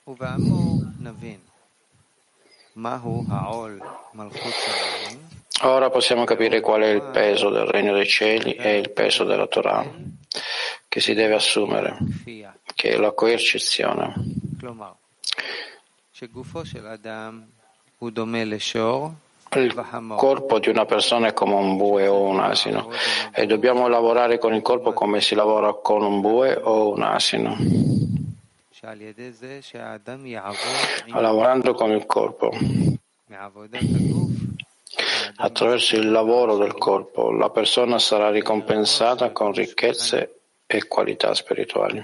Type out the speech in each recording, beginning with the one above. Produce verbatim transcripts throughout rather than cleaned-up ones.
Ora possiamo capire qual è il peso del regno dei cieli e il peso della Torah che si deve assumere, che è la coercizione. Il corpo di una persona è come un bue o un asino e dobbiamo lavorare con il corpo come si lavora con un bue o un asino. Lavorando con il corpo, attraverso il lavoro del corpo, la persona sarà ricompensata con ricchezze e qualità spirituali.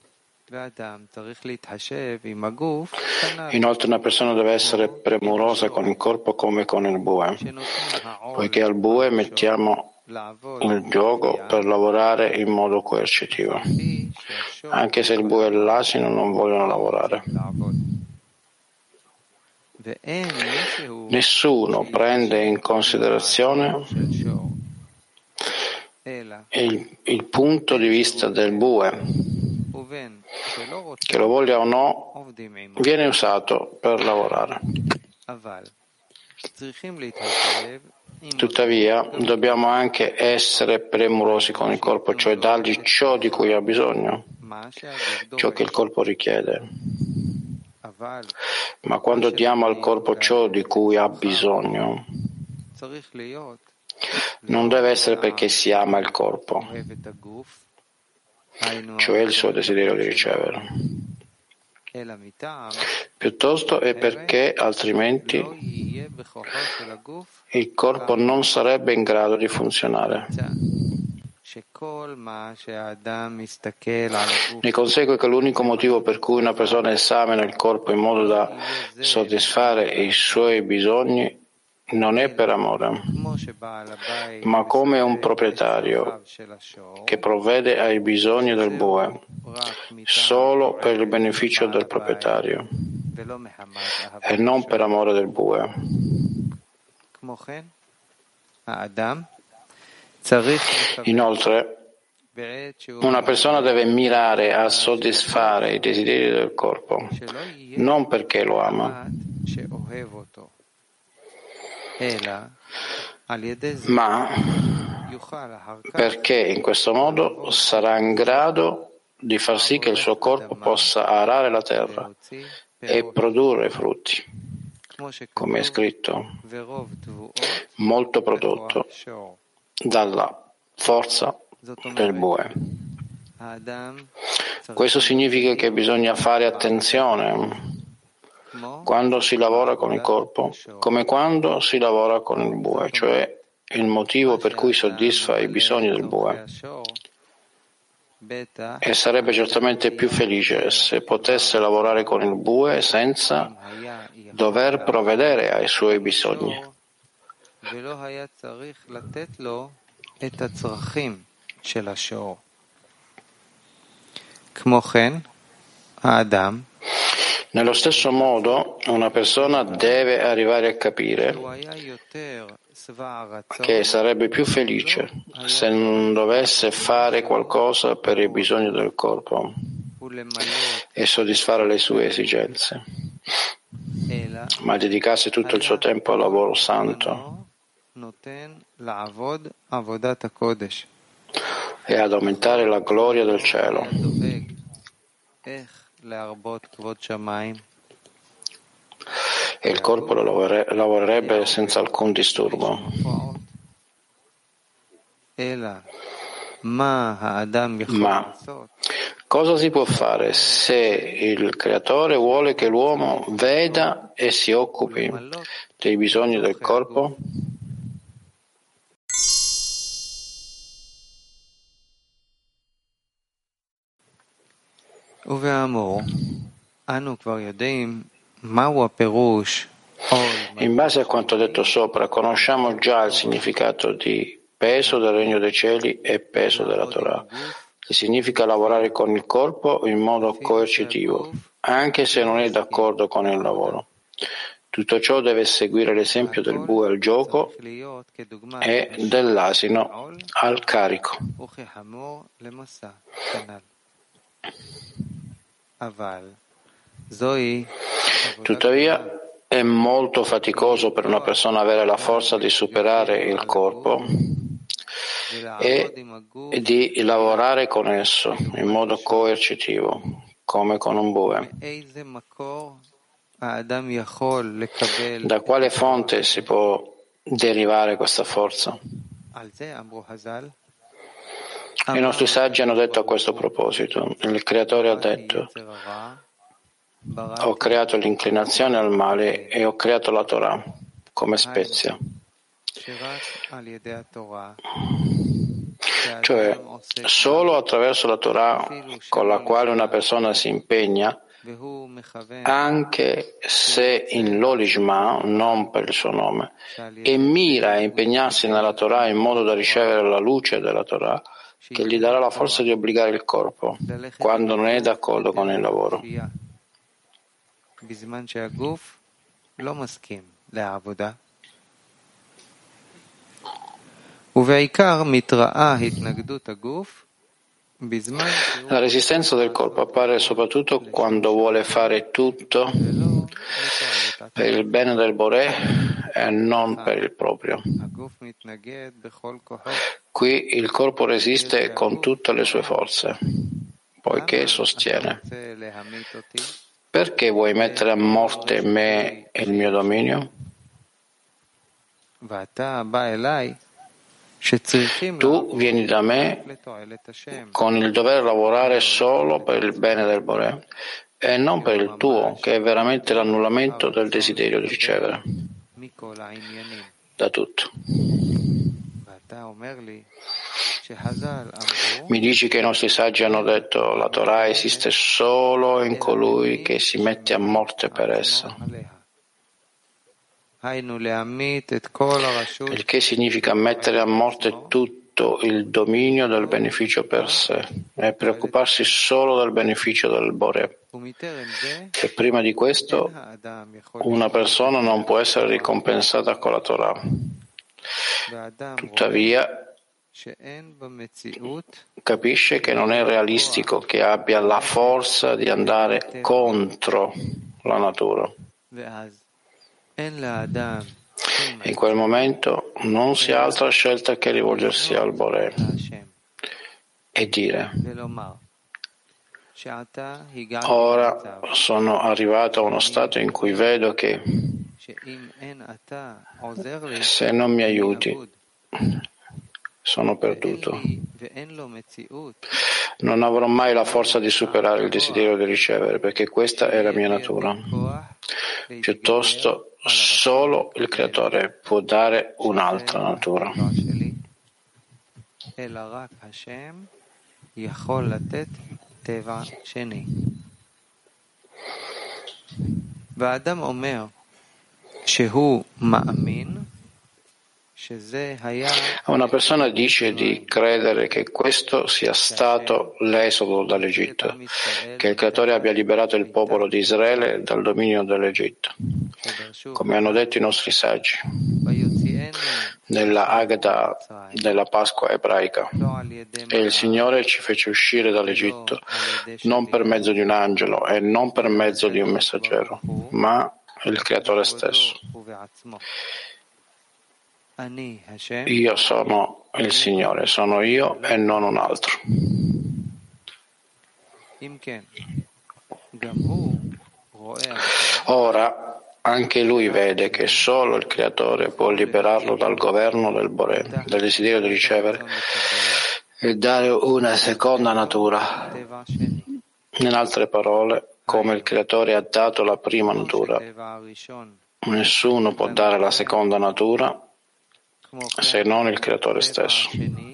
Inoltre una persona deve essere premurosa con il corpo come con il bue, poiché al bue mettiamo il gioco per lavorare in modo coercitivo, anche se il bue e l'asino non vogliono lavorare. Nessuno prende in considerazione il, il punto di vista del bue, che lo voglia o no, viene usato per lavorare. Tuttavia, dobbiamo anche essere premurosi con il corpo, cioè dargli ciò di cui ha bisogno, ciò che il corpo richiede. Ma quando diamo al corpo ciò di cui ha bisogno, non deve essere perché si ama il corpo, cioè il suo desiderio di ricevere. Piuttosto è perché altrimenti il corpo non sarebbe in grado di funzionare. Ne consegue che l'unico motivo per cui una persona esamina il corpo in modo da soddisfare i suoi bisogni non è per amore, ma come un proprietario che provvede ai bisogni del bue solo per il beneficio del proprietario e non per amore del bue. Inoltre, una persona deve mirare a soddisfare i desideri del corpo, non perché lo ama, ma perché in questo modo sarà in grado di far sì che il suo corpo possa arare la terra e produrre frutti, come è scritto, molto prodotto dalla forza del bue. Questo significa che bisogna fare attenzione quando si lavora con il corpo, come quando si lavora con il bue, cioè il motivo per cui soddisfa i bisogni del bue. E sarebbe certamente più felice se potesse lavorare con il bue senza dover provvedere ai suoi bisogni. Nello stesso modo, una persona deve arrivare a capire che sarebbe più felice se non dovesse fare qualcosa per i bisogni del corpo e soddisfare le sue esigenze, ma dedicasse tutto il suo tempo al lavoro santo e ad aumentare la gloria del cielo. E il corpo lo lavorerebbe senza alcun disturbo. Ma cosa si può fare se il Creatore vuole che l'uomo veda e si occupi dei bisogni del corpo? In base a quanto detto sopra, conosciamo già il significato di peso del regno dei cieli e peso della Torah, che significa lavorare con il corpo in modo coercitivo, anche se non è d'accordo con il lavoro. Tutto ciò deve seguire l'esempio del bue al gioco e dell'asino al carico. Tuttavia, è molto faticoso per una persona avere la forza di superare il corpo e di lavorare con esso in modo coercitivo, come con un bue. Da quale fonte si può derivare questa forza? I nostri saggi hanno detto a questo proposito, il Creatore ha detto: ho creato l'inclinazione al male e ho creato la Torah come spezia. Cioè, solo attraverso la Torah con la quale una persona si impegna, anche se in Lolishma, non per il suo nome, e mira a impegnarsi nella Torah in modo da ricevere la luce della Torah, che gli darà la forza di obbligare il corpo quando non è d'accordo con il lavoro. La resistenza del corpo appare soprattutto quando vuole fare tutto per il bene del Boré e non per il proprio. Qui il corpo resiste con tutte le sue forze, poiché sostiene: perché vuoi mettere a morte me e il mio dominio? Tu vieni da me con il dover lavorare solo per il bene del Boré e non per il tuo, che è veramente l'annullamento del desiderio di ricevere da tutto. Mi dici che i nostri saggi hanno detto: la Torah esiste solo in colui che si mette a morte per essa. Il che significa mettere a morte tutto il dominio del beneficio per sé e preoccuparsi solo del beneficio del Boré. E prima di questo una persona non può essere ricompensata con la Torah. Tuttavia capisce che non è realistico che abbia la forza di andare contro la natura. In quel momento non si ha altra scelta che rivolgersi al Boré e dire: ora sono arrivato a uno stato in cui vedo che se non mi aiuti sono perduto. Non avrò mai la forza di superare il desiderio di ricevere, perché questa è la mia natura. Piuttosto, solo il Creatore può dare un'altra natura. Una persona dice di credere che questo sia stato l'esodo dall'Egitto, che il Creatore abbia liberato il popolo di Israele dal dominio dell'Egitto, come hanno detto i nostri saggi nella Agada della Pasqua ebraica. E il Signore ci fece uscire dall'Egitto non per mezzo di un angelo e non per mezzo di un messaggero, ma il Creatore stesso. Io sono il Signore, sono io e non un altro. Ora, anche lui vede che solo il Creatore può liberarlo dal governo del Boré, dal desiderio di ricevere e dare una seconda natura. In altre parole, come il Creatore ha dato la prima natura, nessuno può dare la seconda natura se non il Creatore stesso.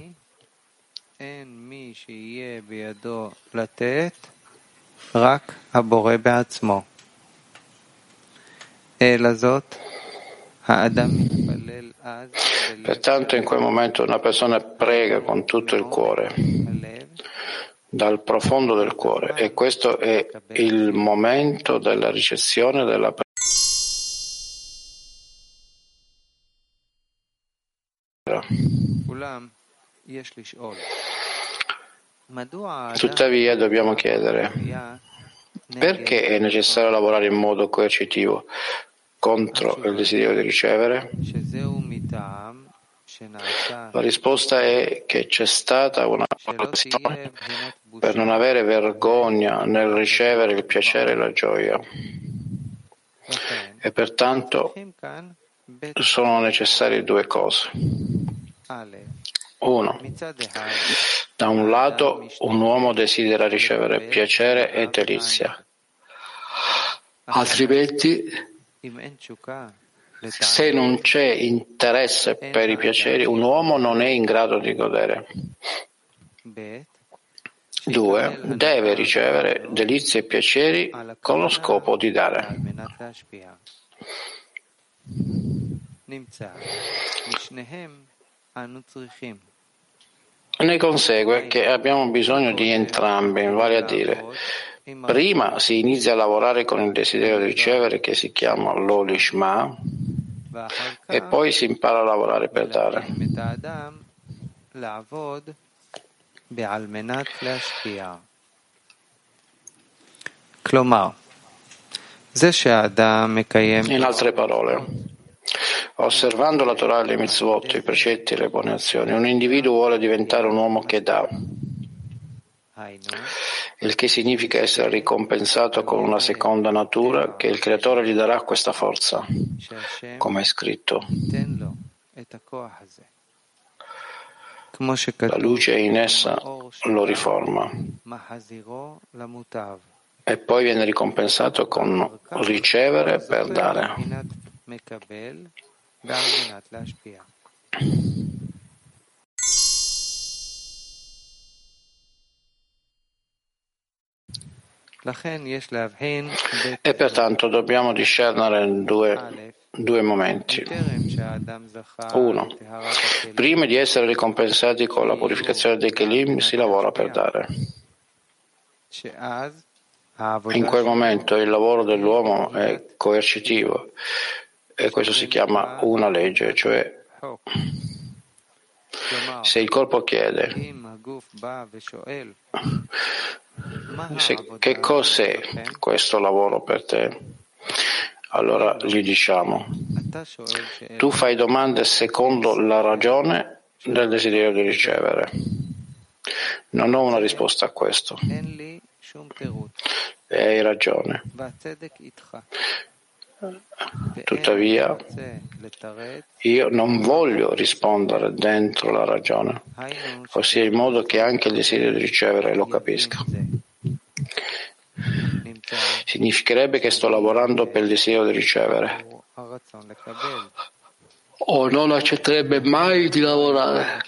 Pertanto in quel momento una persona prega con tutto il cuore, dal profondo del cuore, e questo è il momento della ricezione della preghiera. Tuttavia dobbiamo chiedere: Perché è necessario lavorare in modo coercitivo contro il desiderio di ricevere? La risposta è che c'è stata una pressione per non avere vergogna nel ricevere il piacere e la gioia. E pertanto sono necessarie due cose. Uno, da un lato un uomo desidera ricevere piacere e delizia, altrimenti se non c'è interesse per i piaceri un uomo non è in grado di godere. Due, deve ricevere delizie e piaceri con lo scopo di dare. Ne consegue che abbiamo bisogno di entrambi, vale a dire, prima si inizia a lavorare con il desiderio di ricevere che si chiama lo lishma e poi si impara a lavorare per dare. In altre parole, osservando la Torah e le mitzvot, i precetti e le buone azioni, un individuo vuole diventare un uomo che dà, il che significa essere ricompensato con una seconda natura che il Creatore gli darà questa forza, come è scritto. La luce in essa lo riforma e poi viene ricompensato con ricevere per dare. E pertanto dobbiamo discernere due, due momenti. Uno, prima di essere ricompensati con la purificazione dei Kelim si lavora per dare. In quel momento il lavoro dell'uomo è coercitivo e questo si chiama una legge, cioè se il corpo chiede se, che cos'è questo lavoro per te, allora gli diciamo tu fai domande secondo la ragione del desiderio di ricevere. Non ho una risposta a questo e hai ragione. Tuttavia, io non voglio rispondere dentro la ragione, ossia in modo che anche il desiderio di ricevere lo capisca. Significherebbe che sto lavorando per il desiderio di ricevere, o non accetterebbe mai di lavorare.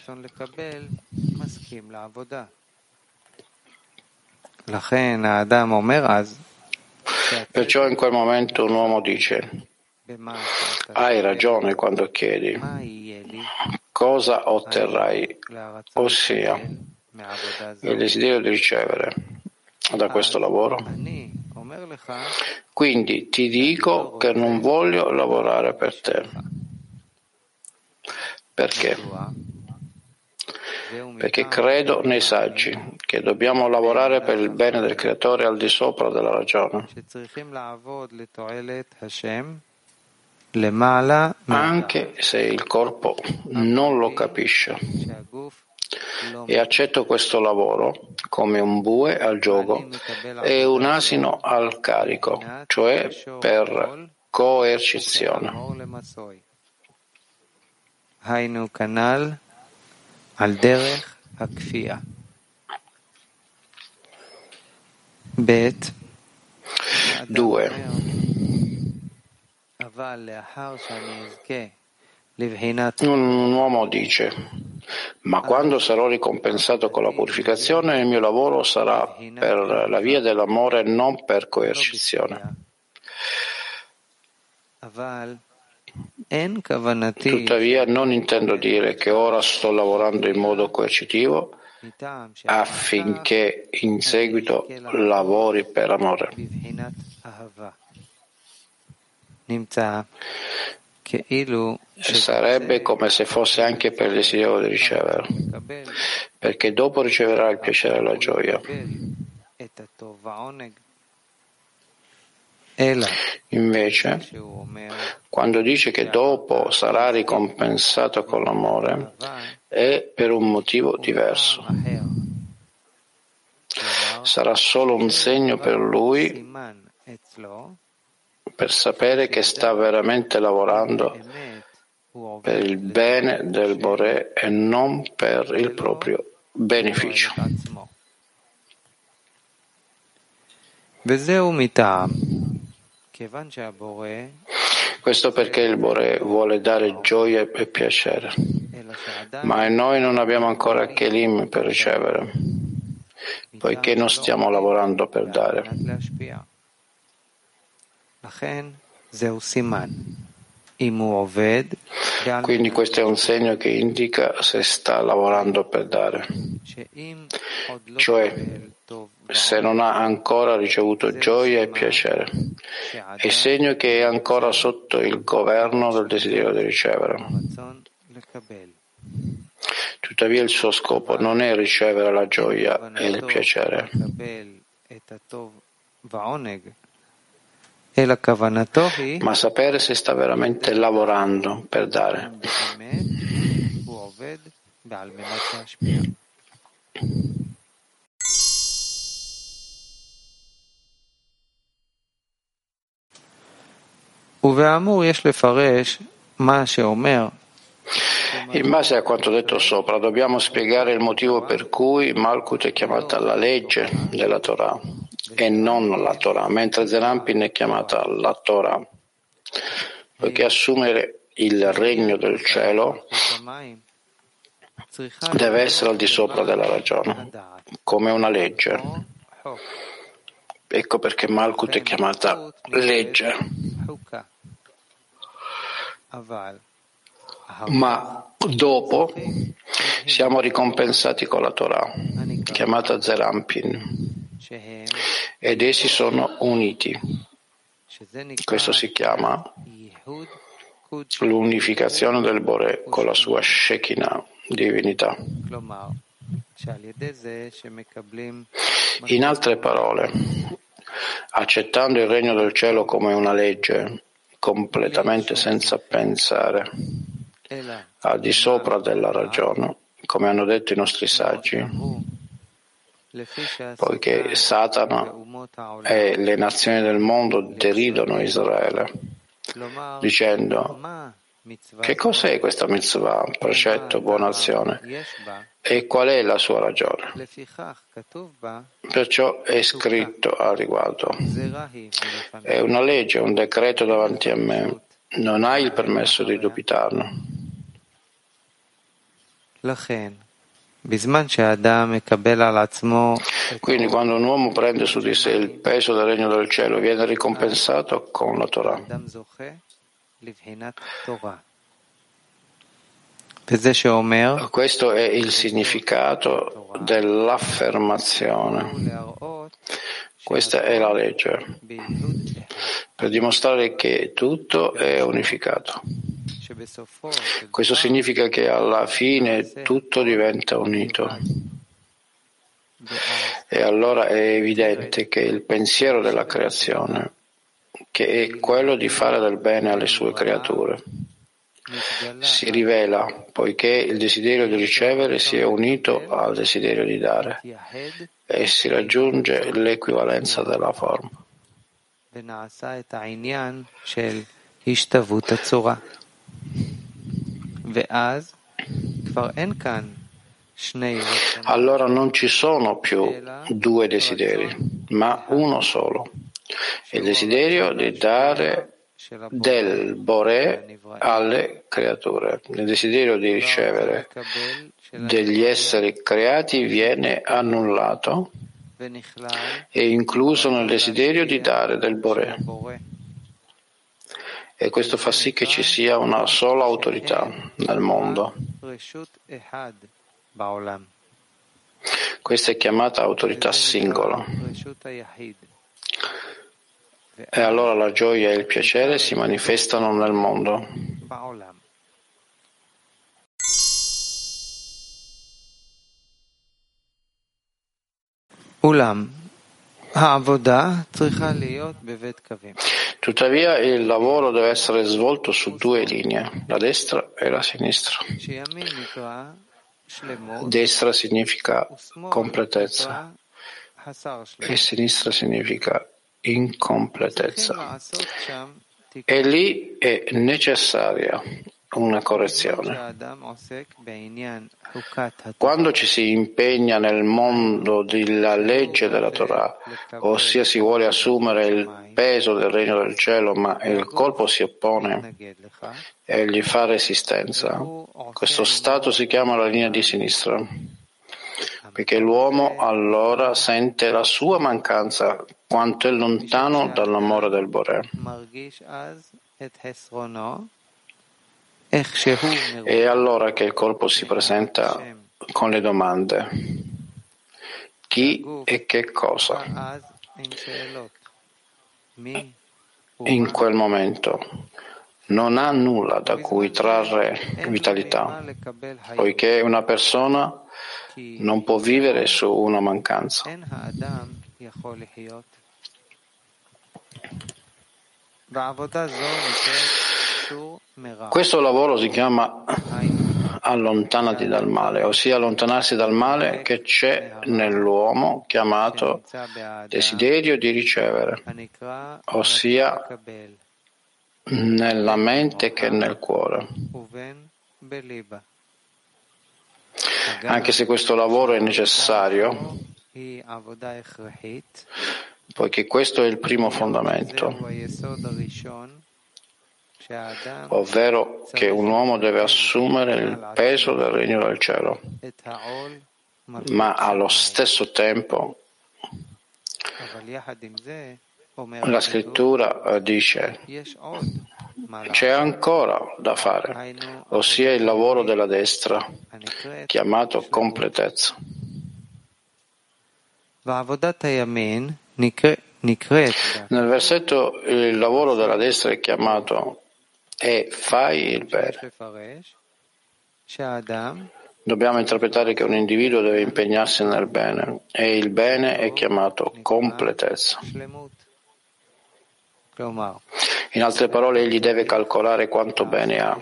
Perciò in quel momento un uomo dice: hai ragione quando chiedi cosa otterrai, ossia il desiderio di ricevere da questo lavoro. Quindi ti dico che non voglio lavorare per te. Perché? Perché credo nei saggi che dobbiamo lavorare per il bene del Creatore al di sopra della ragione, anche se il corpo non lo capisce. E accetto questo lavoro come un bue al giogo e un asino al carico, cioè per coercizione. על דרך הכפייה. ב' Due. אבל לאחר שאני אזכה לבחינת Un uomo dice: ma quando sarò ricompensato con la purificazione, il mio lavoro sarà per la via dell'amore e non per coercizione. Tuttavia non intendo dire che ora sto lavorando in modo coercitivo affinché in seguito lavori per amore. Sarebbe come se fosse anche per il desiderio di ricevere, perché dopo riceverà il piacere e la gioia. Invece, quando dice che dopo sarà ricompensato con l'amore, è per un motivo diverso. Sarà solo un segno per lui per sapere che sta veramente lavorando per il bene del Boré e non per il proprio beneficio. Questo perché il Boré vuole dare gioia e piacere, ma noi non abbiamo ancora Kelim per ricevere, poiché non stiamo lavorando per dare. Quindi questo è un segno che indica se sta lavorando per dare, cioè se non ha ancora ricevuto gioia e piacere. È segno che è ancora sotto il governo del desiderio di ricevere. Tuttavia il suo scopo non è ricevere la gioia e il piacere, ma sapere se sta veramente lavorando per dare. In base a quanto detto sopra, dobbiamo spiegare il motivo per cui Malkut è chiamata la legge della Torah e non la Torah, mentre Zerampin è chiamata la Torah, poiché assumere il regno del cielo deve essere al di sopra della ragione, come una legge. Ecco perché Malkut è chiamata legge. Ma dopo siamo ricompensati con la Torah, chiamata Zerampin, ed essi sono uniti. Questo si chiama l'unificazione del Boré con la sua Shekinah, divinità. In altre parole, accettando il regno del cielo come una legge, completamente senza pensare, al di sopra della ragione, come hanno detto i nostri saggi, poiché Satana e le nazioni del mondo deridono Israele, dicendo: che cos'è questa mitzvah, precetto, buona azione, e qual è la sua ragione? Perciò è scritto al riguardo: è una legge, un decreto davanti a me, non hai il permesso di dubitarne. Quindi quando un uomo prende su di sé il peso del regno del cielo, viene ricompensato con la Torah. Questo è il significato dell'affermazione. Questa è la legge, per dimostrare che tutto è unificato. Questo significa che alla fine tutto diventa unito. E allora è evidente che il pensiero della creazione, che è quello di fare del bene alle sue creature, si rivela poiché il desiderio di ricevere si è unito al desiderio di dare e si raggiunge l'equivalenza della forma. Allora non ci sono più due desideri, ma uno solo. Il desiderio di dare del Boré alle creature. Il desiderio di ricevere degli esseri creati viene annullato e incluso nel desiderio di dare del Boré. E questo fa sì che ci sia una sola autorità nel mondo. Questa è chiamata autorità singola. E allora la gioia e il piacere si manifestano nel mondo. Tuttavia il lavoro deve essere svolto su due linee, la destra e la sinistra. Destra significa completezza e sinistra significa incompletezza. E lì è necessaria una correzione. Quando ci si impegna nel mondo della legge della Torah, ossia si vuole assumere il peso del regno del cielo, ma il corpo si oppone e gli fa resistenza, questo stato si chiama la linea di sinistra, perché l'uomo allora sente la sua mancanza quanto è lontano dall'amore del Boré. È allora che il corpo si presenta con le domande: chi e che cosa? In quel momento non ha nulla da cui trarre vitalità, poiché una persona non può vivere su una mancanza. Questo lavoro si chiama allontanati dal male, ossia allontanarsi dal male che c'è nell'uomo, chiamato desiderio di ricevere, ossia nella mente che nel cuore. Anche se questo lavoro è necessario, poiché questo è il primo fondamento, ovvero che un uomo deve assumere il peso del regno del cielo, ma allo stesso tempo la scrittura dice c'è ancora da fare, ossia il lavoro della destra, chiamato completezza. Nel versetto il lavoro della destra è chiamato e fai il bene. Dobbiamo interpretare che un individuo deve impegnarsi nel bene e il bene è chiamato completezza. In altre parole, egli deve calcolare quanto bene ha,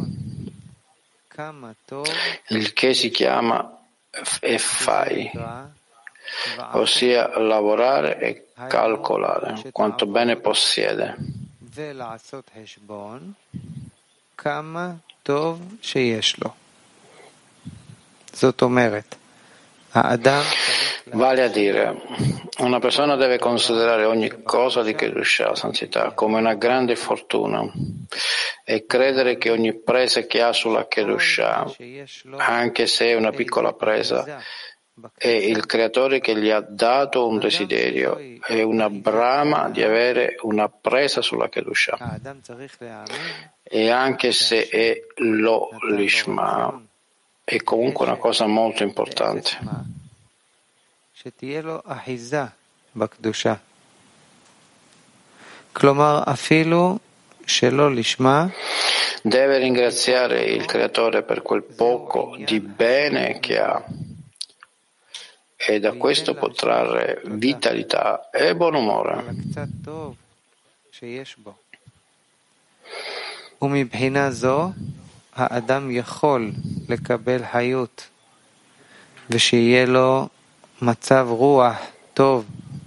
il che si chiama e fai, ossia lavorare e calcolare quanto bene possiede. Vale a dire, una persona deve considerare ogni cosa di Kedushah, santità, come una grande fortuna e credere che ogni presa che ha sulla Kedushah, anche se è una piccola presa, è il Creatore che gli ha dato un desiderio e una brama di avere una presa sulla Kedushah. E anche se è lo lishma, è comunque una cosa molto importante. Deve ringraziare il Creatore per quel poco di bene che ha e da questo può trarre vitalità e buon umore. האדם יכול לקבל חיות ושיהיה לו מצב רוח טוב.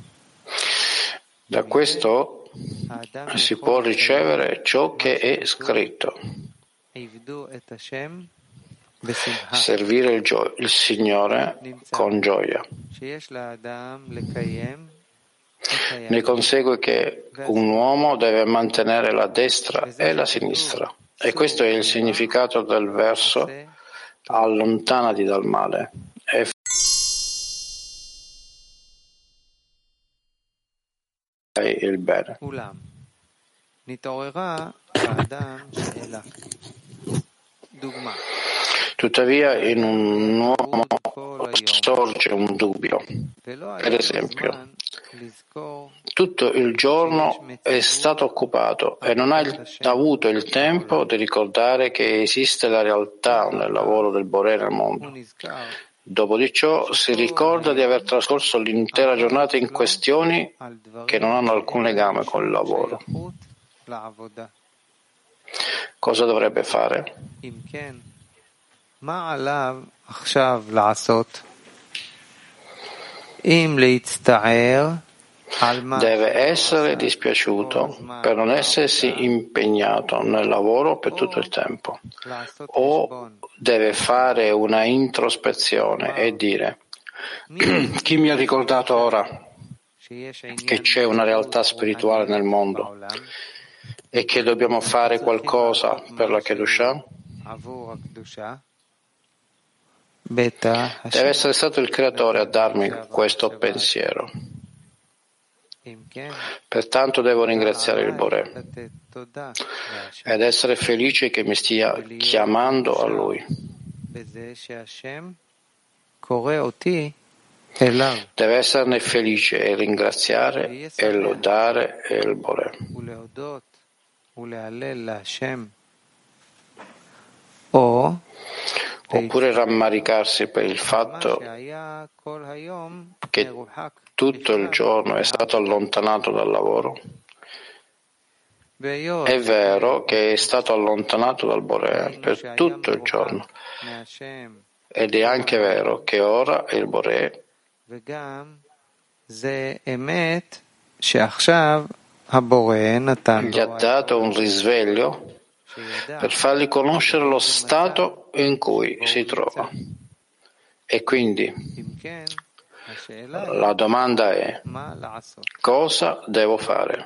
Da questo si può ricevere ciò che è scritto. Servire il, gio- il Signore con gioia. Ne consegue che un uomo deve mantenere la destra e la sinistra. E questo è il significato del verso allontanati dal male e fai il bene. Tuttavia in un uomo sorge un dubbio. Per esempio, tutto il giorno è stato occupato e non ha il, avuto il tempo di ricordare che esiste la realtà nel lavoro del Boré nel mondo. Dopo di ciò si ricorda di aver trascorso l'intera giornata in questioni che non hanno alcun legame con il lavoro. Cosa dovrebbe fare? Deve essere dispiaciuto per non essersi impegnato nel lavoro per tutto il tempo, o deve fare una introspezione e dire: chi mi ha ricordato ora che c'è una realtà spirituale nel mondo e che dobbiamo fare qualcosa per la Kedushah? Deve essere stato il Creatore a darmi questo pensiero. Pertanto devo ringraziare il Boré ed essere felice che mi stia chiamando a Lui. Deve esserne felice e ringraziare e lodare il Boré. Oppure rammaricarsi per il fatto che tutto il giorno è stato allontanato dal lavoro. È vero che è stato allontanato dal Boré per tutto il giorno, ed è anche vero che ora il Boré gli ha dato un risveglio per fargli conoscere lo stato in cui si trova. E quindi la domanda è: cosa devo fare?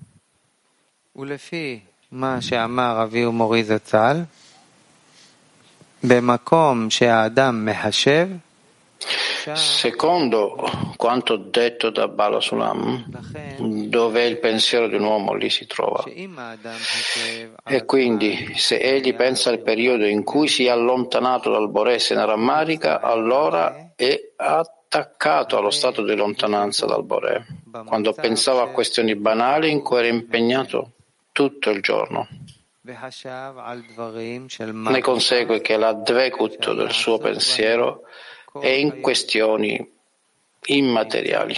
Secondo quanto detto da Bala Sulam, dove il pensiero di un uomo lì si trova. E quindi, se egli pensa al periodo in cui si è allontanato dal Boré e se ne rammarica, allora è attaccato allo stato di lontananza dal Boré, quando pensava a questioni banali in cui era impegnato tutto il giorno. Ne consegue che la dvekut del suo pensiero è in questioni immateriali.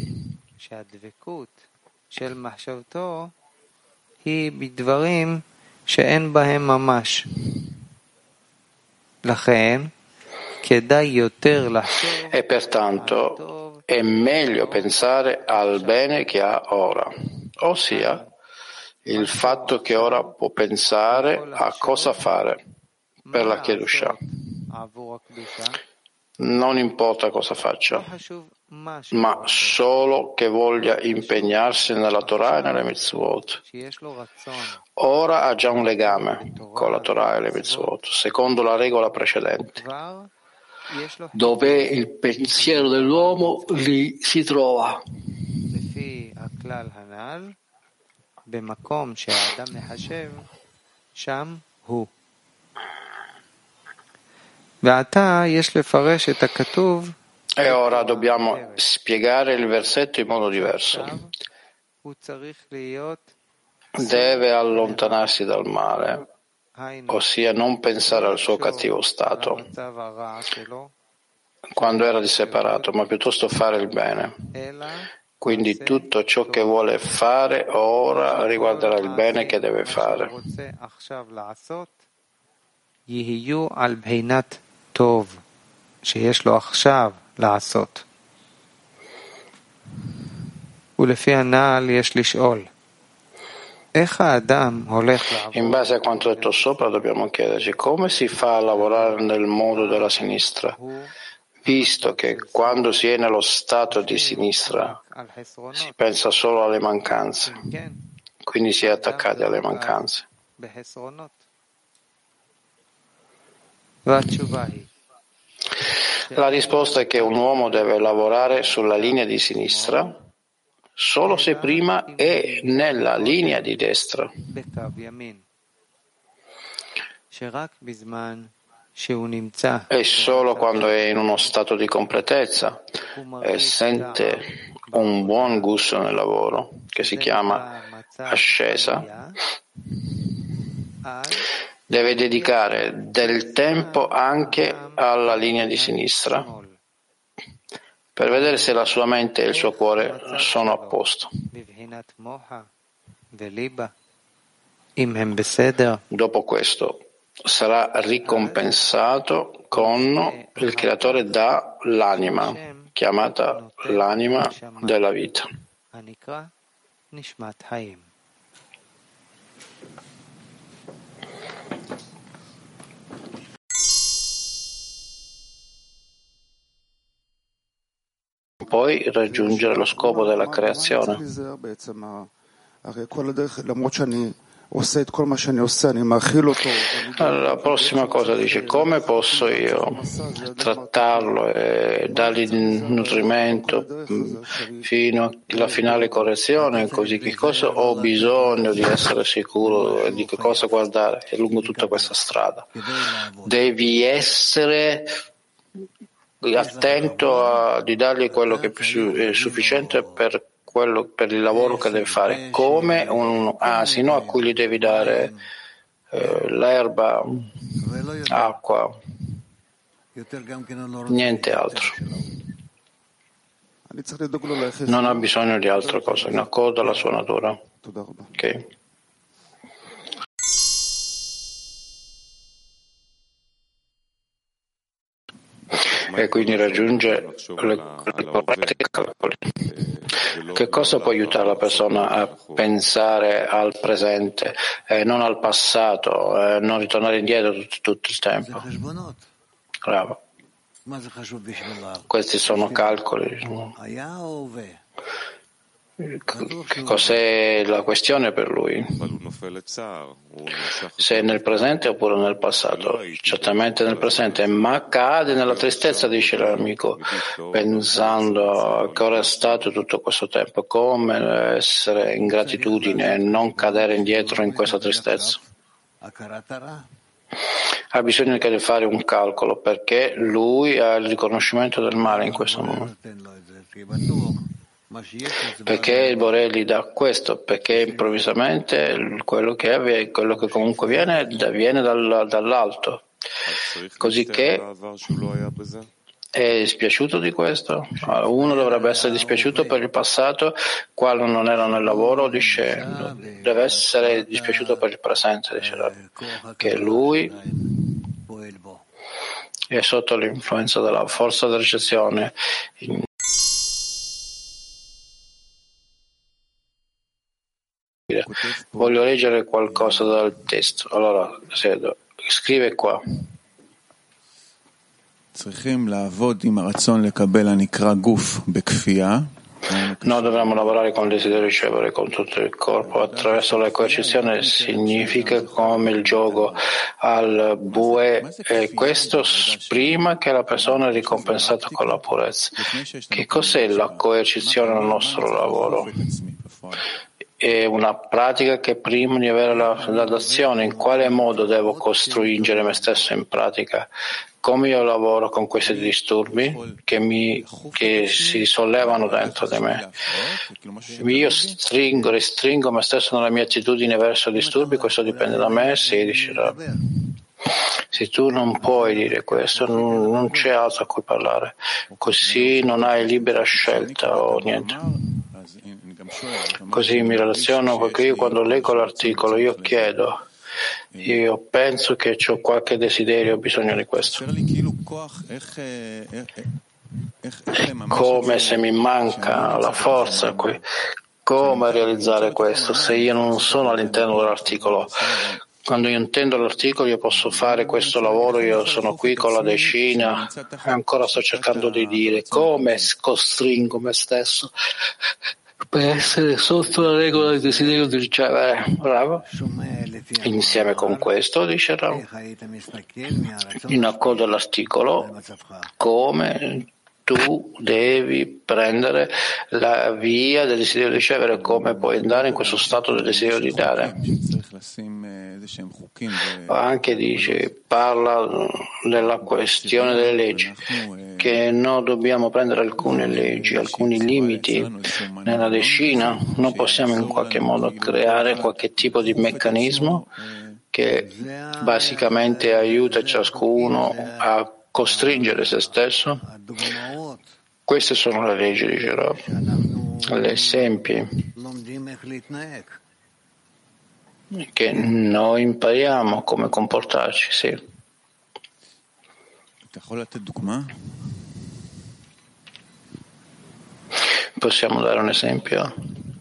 E pertanto è meglio pensare al bene che ha ora, ossia il fatto che ora può pensare a cosa fare per la Kedushah. Non importa cosa faccia, ma solo che voglia impegnarsi nella Torah e nelle mitzvot. Ora ha già un legame con la Torah e le mitzvot, secondo la regola precedente, dove il pensiero dell'uomo lì si trova. E ora dobbiamo spiegare il versetto in modo diverso. Deve allontanarsi dal male, ossia non pensare al suo cattivo stato quando era disseparato, ma piuttosto fare il bene. Quindi tutto ciò che vuole fare ora riguarderà il bene che deve fare. שיש לו עכשיו לעשות. ולפי הנ"ל יש לשאול, איך האדם הולך לעבוד? In base a quanto detto sopra dobbiamo chiederci come si fa a lavorare nel modo della sinistra, visto che quando si è nello stato di sinistra si pensa solo alle mancanze, quindi si è attaccati alle mancanze. La risposta è che un uomo deve lavorare sulla linea di sinistra solo se prima è nella linea di destra. E solo quando è in uno stato di completezza e sente un buon gusto nel lavoro, che si chiama ascesa, deve dedicare del tempo anche alla linea di sinistra per vedere se la sua mente e il suo cuore sono a posto. Dopo questo sarà ricompensato con il creatore dà l'anima, chiamata l'anima della vita. Poi raggiungere lo scopo della creazione. La prossima cosa dice: come posso io trattarlo e dargli nutrimento fino alla finale correzione? Così che cosa ho bisogno di essere sicuro di che cosa guardare lungo tutta questa strada? Devi essere attento a, di dargli quello che è sufficiente per quello, per il lavoro che deve fare, come un asino a cui gli devi dare eh, l'erba, acqua, niente altro. Non ha bisogno di altra cosa, in accordo alla sua natura. Okay. E quindi raggiunge le, le corrette calcoli. Che cosa può aiutare la persona a pensare al presente e non al passato, e non ritornare indietro tutto, tutto il tempo? Bravo. Questi sono calcoli. Che cos'è la questione per lui? Se è nel presente oppure nel passato? Certamente nel presente, ma cade nella tristezza, dice l'amico, pensando che ora è stato tutto questo tempo. Come essere in gratitudine e non cadere indietro in questa tristezza? Ha bisogno di fare un calcolo, perché lui ha il riconoscimento del male in questo momento. Perché il Bore gli dà questo? Perché improvvisamente quello che avviene, quello che comunque viene, viene dal, dall'alto. Così che è dispiaciuto di questo? Uno dovrebbe essere dispiaciuto per il passato quando non era nel lavoro, dice, deve essere dispiaciuto per il presente, dice, che lui è sotto l'influenza della forza della ricezione. Voglio leggere qualcosa dal testo. Allora, scrive qua. Noi dovremmo lavorare con il desiderio di ricevere con tutto il corpo attraverso la coercizione, significa come il gioco al bue, e questo prima che la persona è ricompensata con la purezza. Che cos'è la coercizione nel nostro lavoro? È una pratica che prima di avere la, la d'azione, in quale modo devo costringere me stesso in pratica? Come io lavoro con questi disturbi che, mi, che si sollevano dentro di me? Io stringo, restringo me stesso nella mia attitudine verso i disturbi, questo dipende da me, si dice. Se tu non puoi dire questo, non, non c'è altro a cui parlare, così non hai libera scelta o niente. Così mi relaziono, perché io quando leggo l'articolo io chiedo, io penso che ho qualche desiderio, ho bisogno di questo. È come se mi manca la forza qui. Come realizzare questo se io non sono all'interno dell'articolo? Quando io intendo l'articolo io posso fare questo lavoro, io sono qui con la decina e ancora sto cercando di dire come costringo me stesso per essere sotto la regola del desiderio di ricevere. Bravo. Insieme con questo, dice Ram, in accordo all'articolo, come tu devi prendere la via del desiderio di ricevere, come puoi andare in questo stato del desiderio di dare. Anche dice, parla della questione delle leggi, che noi dobbiamo prendere alcune leggi, alcuni limiti nella decina. Non possiamo in qualche modo creare qualche tipo di meccanismo che basicamente aiuta ciascuno a costringere se stesso. Queste sono le leggi di Girav, gli esempi che noi impariamo come comportarci, sì. Possiamo dare un esempio?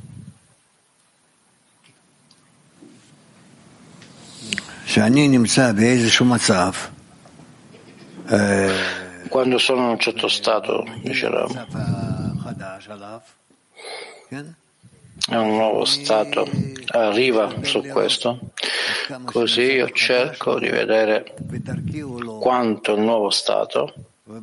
Quando sono in un certo stato, diceva, è un nuovo stato, arriva su questo, così io cerco di vedere quanto il nuovo stato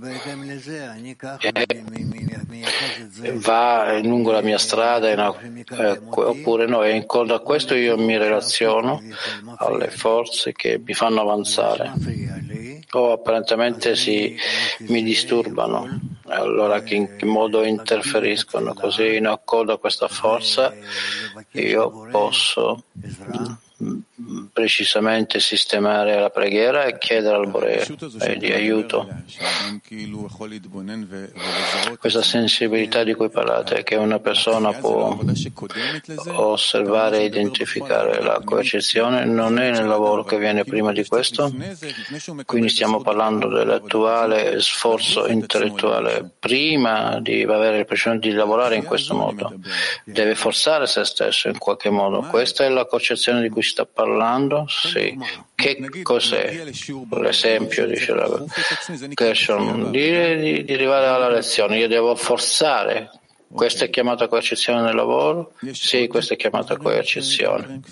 va lungo la mia strada eh, oppure no, e in coda a questo io mi relaziono alle forze che mi fanno avanzare o apparentemente si, mi disturbano, allora che in che modo interferiscono, così in accordo a questa forza io posso precisamente sistemare la preghiera e chiedere al Bore di aiuto. Questa sensibilità di cui parlate, che una persona può osservare e identificare la coercizione, non è nel lavoro che viene prima di questo? Quindi stiamo parlando dell'attuale sforzo intellettuale. Prima di avere il precedente di lavorare in questo modo, deve forzare se stesso in qualche modo. Questa è la concezione di cui si sta parlando? Sì. Che cos'è? L'esempio, diceva Gershon, di, di, di arrivare alla lezione. Io devo forzare. Questa è chiamata coercizione nel lavoro? Sì, questa è chiamata coercizione.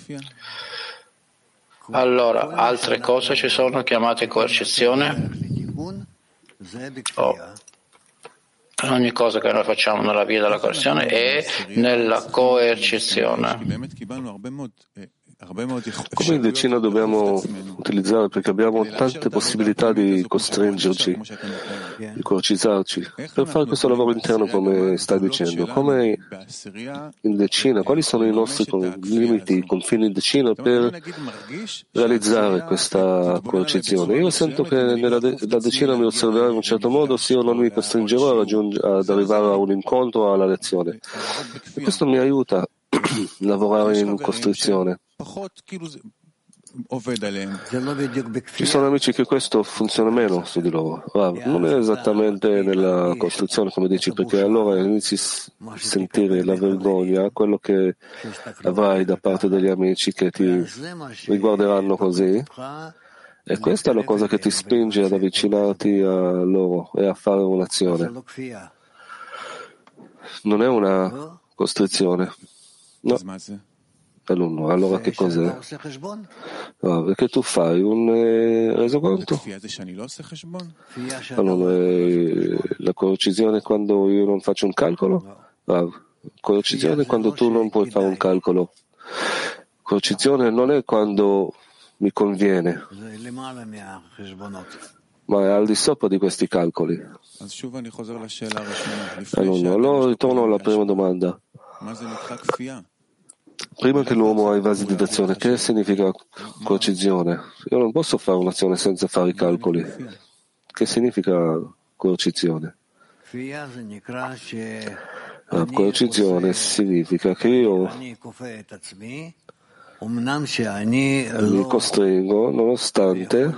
Allora, altre cose ci sono chiamate coercizione? Oh. Ogni cosa che noi facciamo nella via della coercizione è nella coercizione. Come in decina dobbiamo utilizzare, perché abbiamo tante possibilità di costringerci, di coercitarci, per fare questo lavoro interno, come stai dicendo. Come in decina, quali sono i nostri limiti, i confini in decina per realizzare questa coercizione? Io sento che nella de- la decina mi osserverò in un certo modo se io non mi costringerò a raggiung- ad arrivare a un incontro o alla lezione. E questo mi aiuta a lavorare in costrizione. Ci sono amici che questo funziona meno su di loro. Ah, non è esattamente nella costruzione, come dici, perché allora inizi a sentire la vergogna, quello che avrai da parte degli amici che ti riguarderanno così. E questa è la cosa che ti spinge ad avvicinarti a loro e a fare un'azione. Non è una costrizione. No. Alunno, allora che cos'è? No, perché tu fai un eh, resoconto? Allora, eh, la coercizione quando io non faccio un calcolo? Ah, coercizione quando tu non puoi fare un calcolo. Coercizione non è quando mi conviene, ma è al di sopra di questi calcoli. Allora, allora ritorno alla prima domanda. Prima che l'uomo ha i vasi di d'azione, che significa coercizione? Io non posso fare un'azione senza fare i calcoli. Che significa coercizione? La coercizione significa che io mi costringo nonostante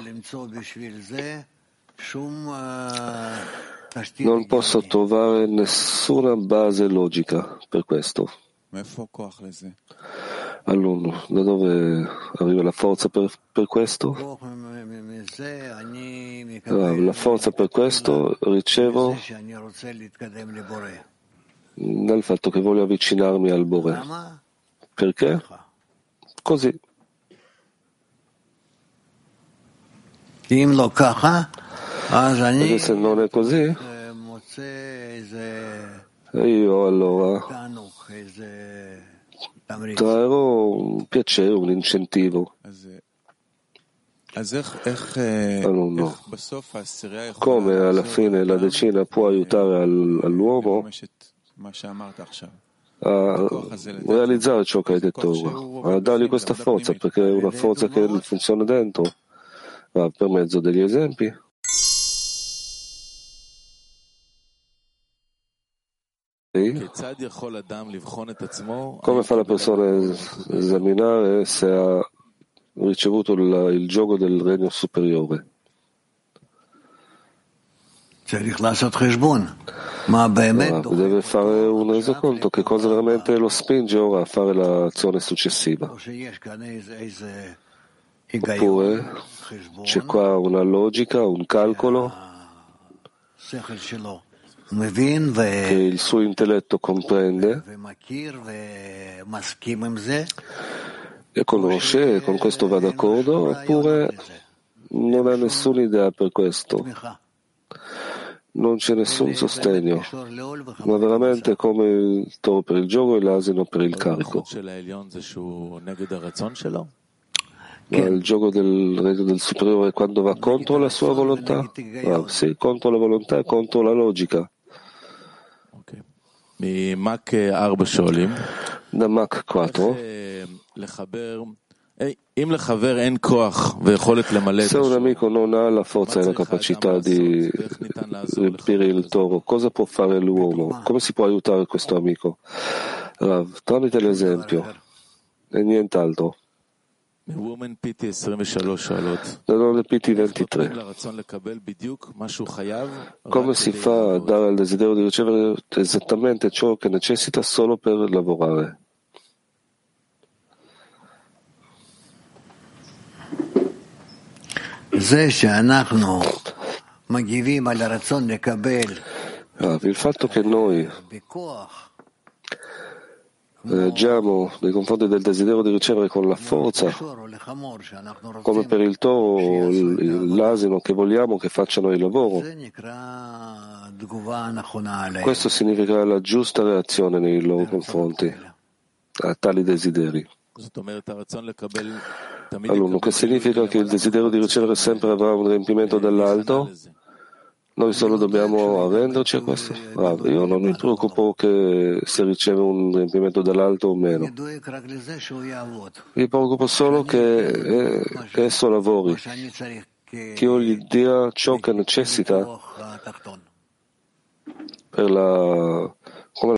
non posso trovare nessuna base logica per questo. Alunno, da dove arriva la forza per, per questo? Ah, la forza per questo ricevo dal fatto che voglio avvicinarmi al Bore. Perché? Così. Perché se non è così, io allora trarrò un piacere, un incentivo. Alunno, come alla fine la decina può aiutare al, all'uomo? a realizzare ciò che hai detto ora, a dargli questa forza, perché è una forza che funziona dentro, ma per mezzo degli esempi. Come fa la persona a esaminare se ha ricevuto il, il gioco del regno superiore? Ora, deve fare un resoconto che cosa veramente lo spinge ora a fare l'azione successiva. Oppure c'è qua una logica, un calcolo che il suo intelletto comprende e conosce e con questo va d'accordo, oppure non ha nessuna idea per questo. Non c'è nessun sostegno, ma veramente come il toro per il gioco e l'asino per il carico. Ma il gioco del regno del superiore quando va contro la sua volontà? Ah, sì, contro la volontà e contro la logica. Da Mach quattro. Se un amico non ha la forza e la capacità di riempire il toro, cosa può fare l'uomo? Come si può aiutare questo amico? Rav, tramite l'esempio e nient'altro. Da Women P T ventitré. Come si fa a dare al desiderio di ricevere esattamente ciò che necessita solo per lavorare? Ah, il fatto che noi reagiamo nei confronti del desiderio di ricevere con la forza, come per il toro, l'asino, che vogliamo che facciano il lavoro, questo significa la giusta reazione nei loro confronti a tali desideri. Allora, che significa che il desiderio di ricevere sempre avrà un riempimento dall'alto? Noi solo dobbiamo arrenderci a questo? Ah, io non mi preoccupo che se riceve un riempimento dall'alto o meno. Mi preoccupo solo che, eh, che esso lavori, che io gli dia ciò che necessita per la... come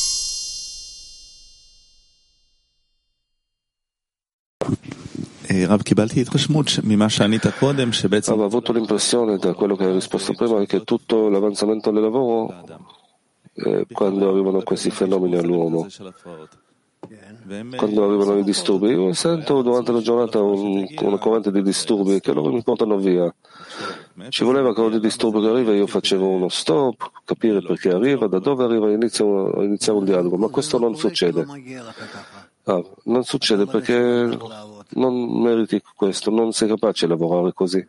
Avevo avuto l'impressione da quello che hai risposto prima che tutto l'avanzamento del lavoro eh, quando arrivano questi fenomeni all'uomo, quando arrivano i disturbi, io sento durante la giornata un, una corrente di disturbi che loro mi portano via. Ci voleva che ogni disturbo che arriva io facevo uno stop, capire perché arriva, da dove arriva, inizio, iniziare un dialogo, ma questo non succede. Ah, non succede perché non meriti questo, non sei capace di lavorare così.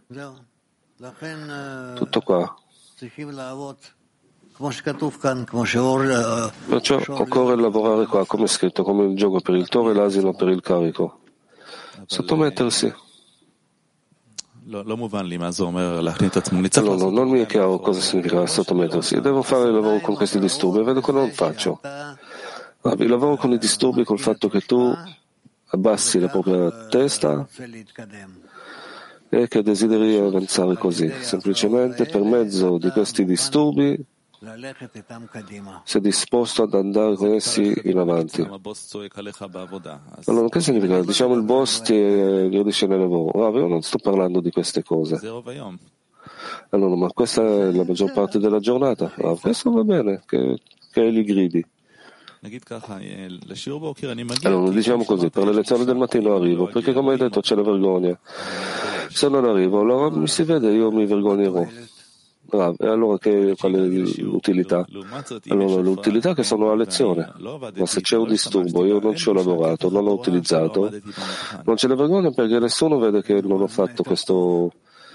Tutto qua. Perciò occorre lavorare qua, come è scritto, come il gioco per il toro e l'asino per il carico. Sottomettersi. Allora, non mi è chiaro cosa significa sottomettersi. Devo fare il lavoro con questi disturbi e vedo che non faccio. Ah, il lavoro con i disturbi col fatto che tu abbassi la propria testa e che desideri avanzare così. Semplicemente per mezzo di questi disturbi sei disposto ad andare con essi in avanti. Allora, che significa? Diciamo il boss ti gradisce nel lavoro. Ah, io non sto parlando di queste cose. Allora, ma questa è la maggior parte della giornata. Ah, questo va bene, che, che gli gridi. Allora, diciamo così, per le lezioni del mattino arrivo, perché come hai detto c'è la vergogna. Se non arrivo, allora mi si vede, io mi vergognerò. Ah, e allora che, qual è l'utilità? Allora l'utilità è che sono a lezione, ma se c'è un disturbo, io non ci ho lavorato, non l'ho utilizzato, non c'è la vergogna perché nessuno vede che non ho fatto questo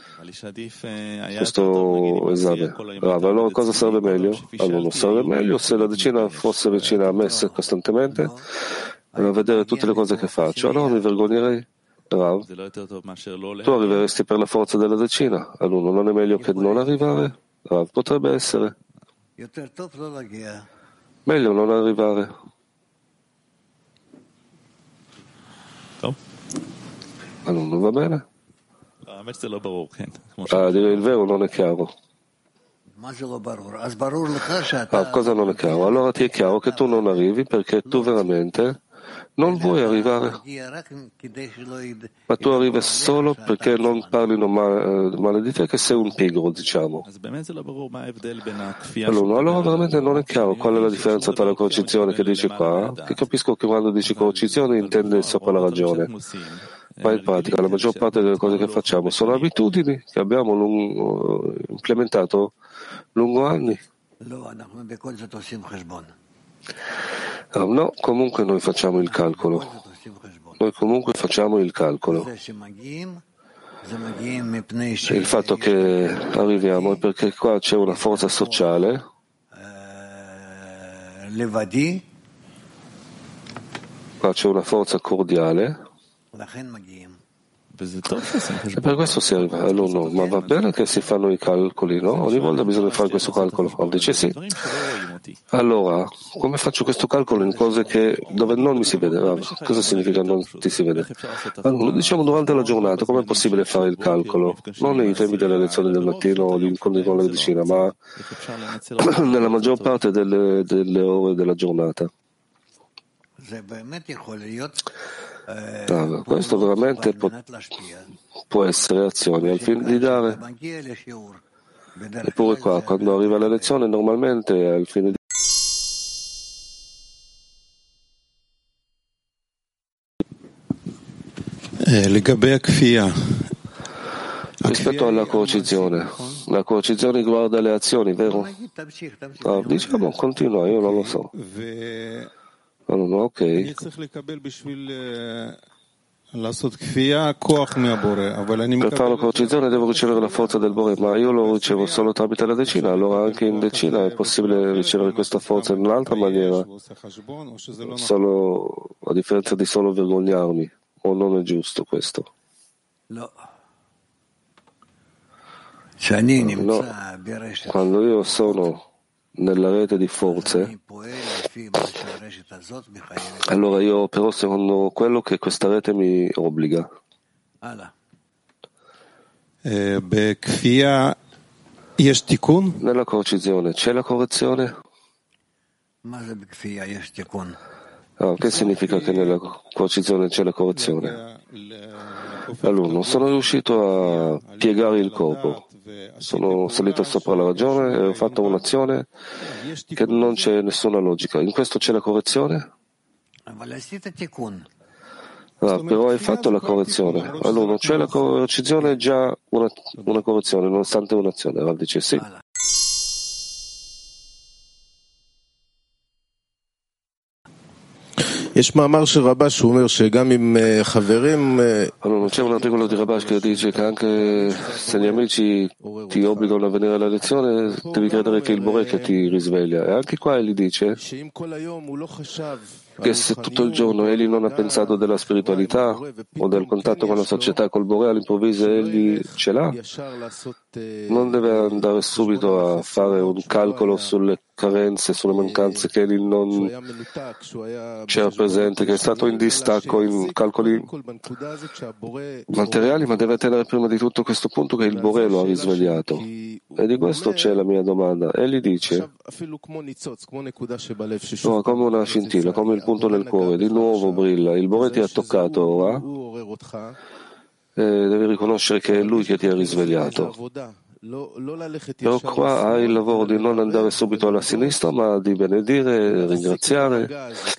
questo esame. Bravo, allora cosa sarebbe meglio? Allora sarebbe meglio se la decina fosse vicina a me costantemente a vedere tutte le cose che faccio, allora mi vergognerei. Rav, tu arriveresti per la forza della decina, allora non è meglio che non arrivare? Rav, potrebbe essere meglio non arrivare. Allora, va bene? A dire il vero non è chiaro. Ah, cosa non è chiaro? Allora ti è chiaro che tu non arrivi perché tu veramente non vuoi arrivare, ma tu arrivi solo perché non parlino male, male di te, che sei un pigro, diciamo. Allora, allora veramente non è chiaro qual è la differenza tra la coercizione che dici qua, che capisco che quando dici coercizione intende sopra la ragione, ma in pratica la maggior parte delle cose che facciamo sono abitudini che abbiamo lungo, implementato lungo anni. No, comunque noi facciamo il calcolo. Noi comunque facciamo il calcolo. Il fatto che arriviamo è perché qua c'è una forza sociale qua c'è una forza cordiale e per questo si arriva. Allora, no, ma va bene che si fanno i calcoli, no? Ogni volta bisogna fare questo calcolo. Allora, dice sì. Allora, come faccio questo calcolo in cose che, dove non mi si vede? Ah, cosa significa non ti si vede? Allora, lo diciamo durante la giornata, com'è possibile fare il calcolo? Non nei tempi delle lezioni del mattino o di incontri con la medicina, ma nella maggior parte delle, delle ore della giornata. Ah, questo veramente può, può essere azioni al fine di dare, eppure qua quando arriva la lezione normalmente è al fine di rispetto alla coercizione. La coercizione riguarda le azioni, vero? Ah, diciamo continua, io non lo so. Allora, ok. Per fare la coercizione devo ricevere la forza del Bore, ma io lo ricevo solo tramite la decina, allora anche in decina è possibile ricevere questa forza in un'altra maniera, solo a differenza di solo vergognarmi, o non è giusto questo? No. Quando io sono nella rete di forze, allora io opero secondo quello che questa rete mi obbliga. Nella coercizione c'è la correzione? Ah, che significa che nella coercizione c'è la correzione? Allora, non sono riuscito a piegare il corpo. Sono salito sopra la ragione e ho fatto un'azione che non c'è nessuna logica. In questo c'è la correzione? Ah, però hai fatto la correzione. Allora, c'è la coercizione, già una, una correzione, nonostante un'azione. Allora dice sì. Allora, c'è un articolo di Rabash che dice che anche se gli amici ti obbligano a venire alla lezione, devi credere che il Bore che ti risveglia. E anche qua egli dice che se tutto il giorno egli non ha pensato della spiritualità o del contatto con la società col Bore, all'improvviso egli ce l'ha, non deve andare subito a fare un calcolo sulle carenze, sulle mancanze che egli non c'era presente, che è stato in distacco in calcoli materiali, ma deve tenere prima di tutto questo punto che il Bore lo ha risvegliato. E di questo c'è la mia domanda. Egli dice, no, come una scintilla, come il punto nel cuore, di nuovo brilla, il Bore ti ha toccato ora, e devi riconoscere che è lui che ti ha risvegliato. Però qua hai il lavoro di non andare subito alla sinistra, ma di benedire, ringraziare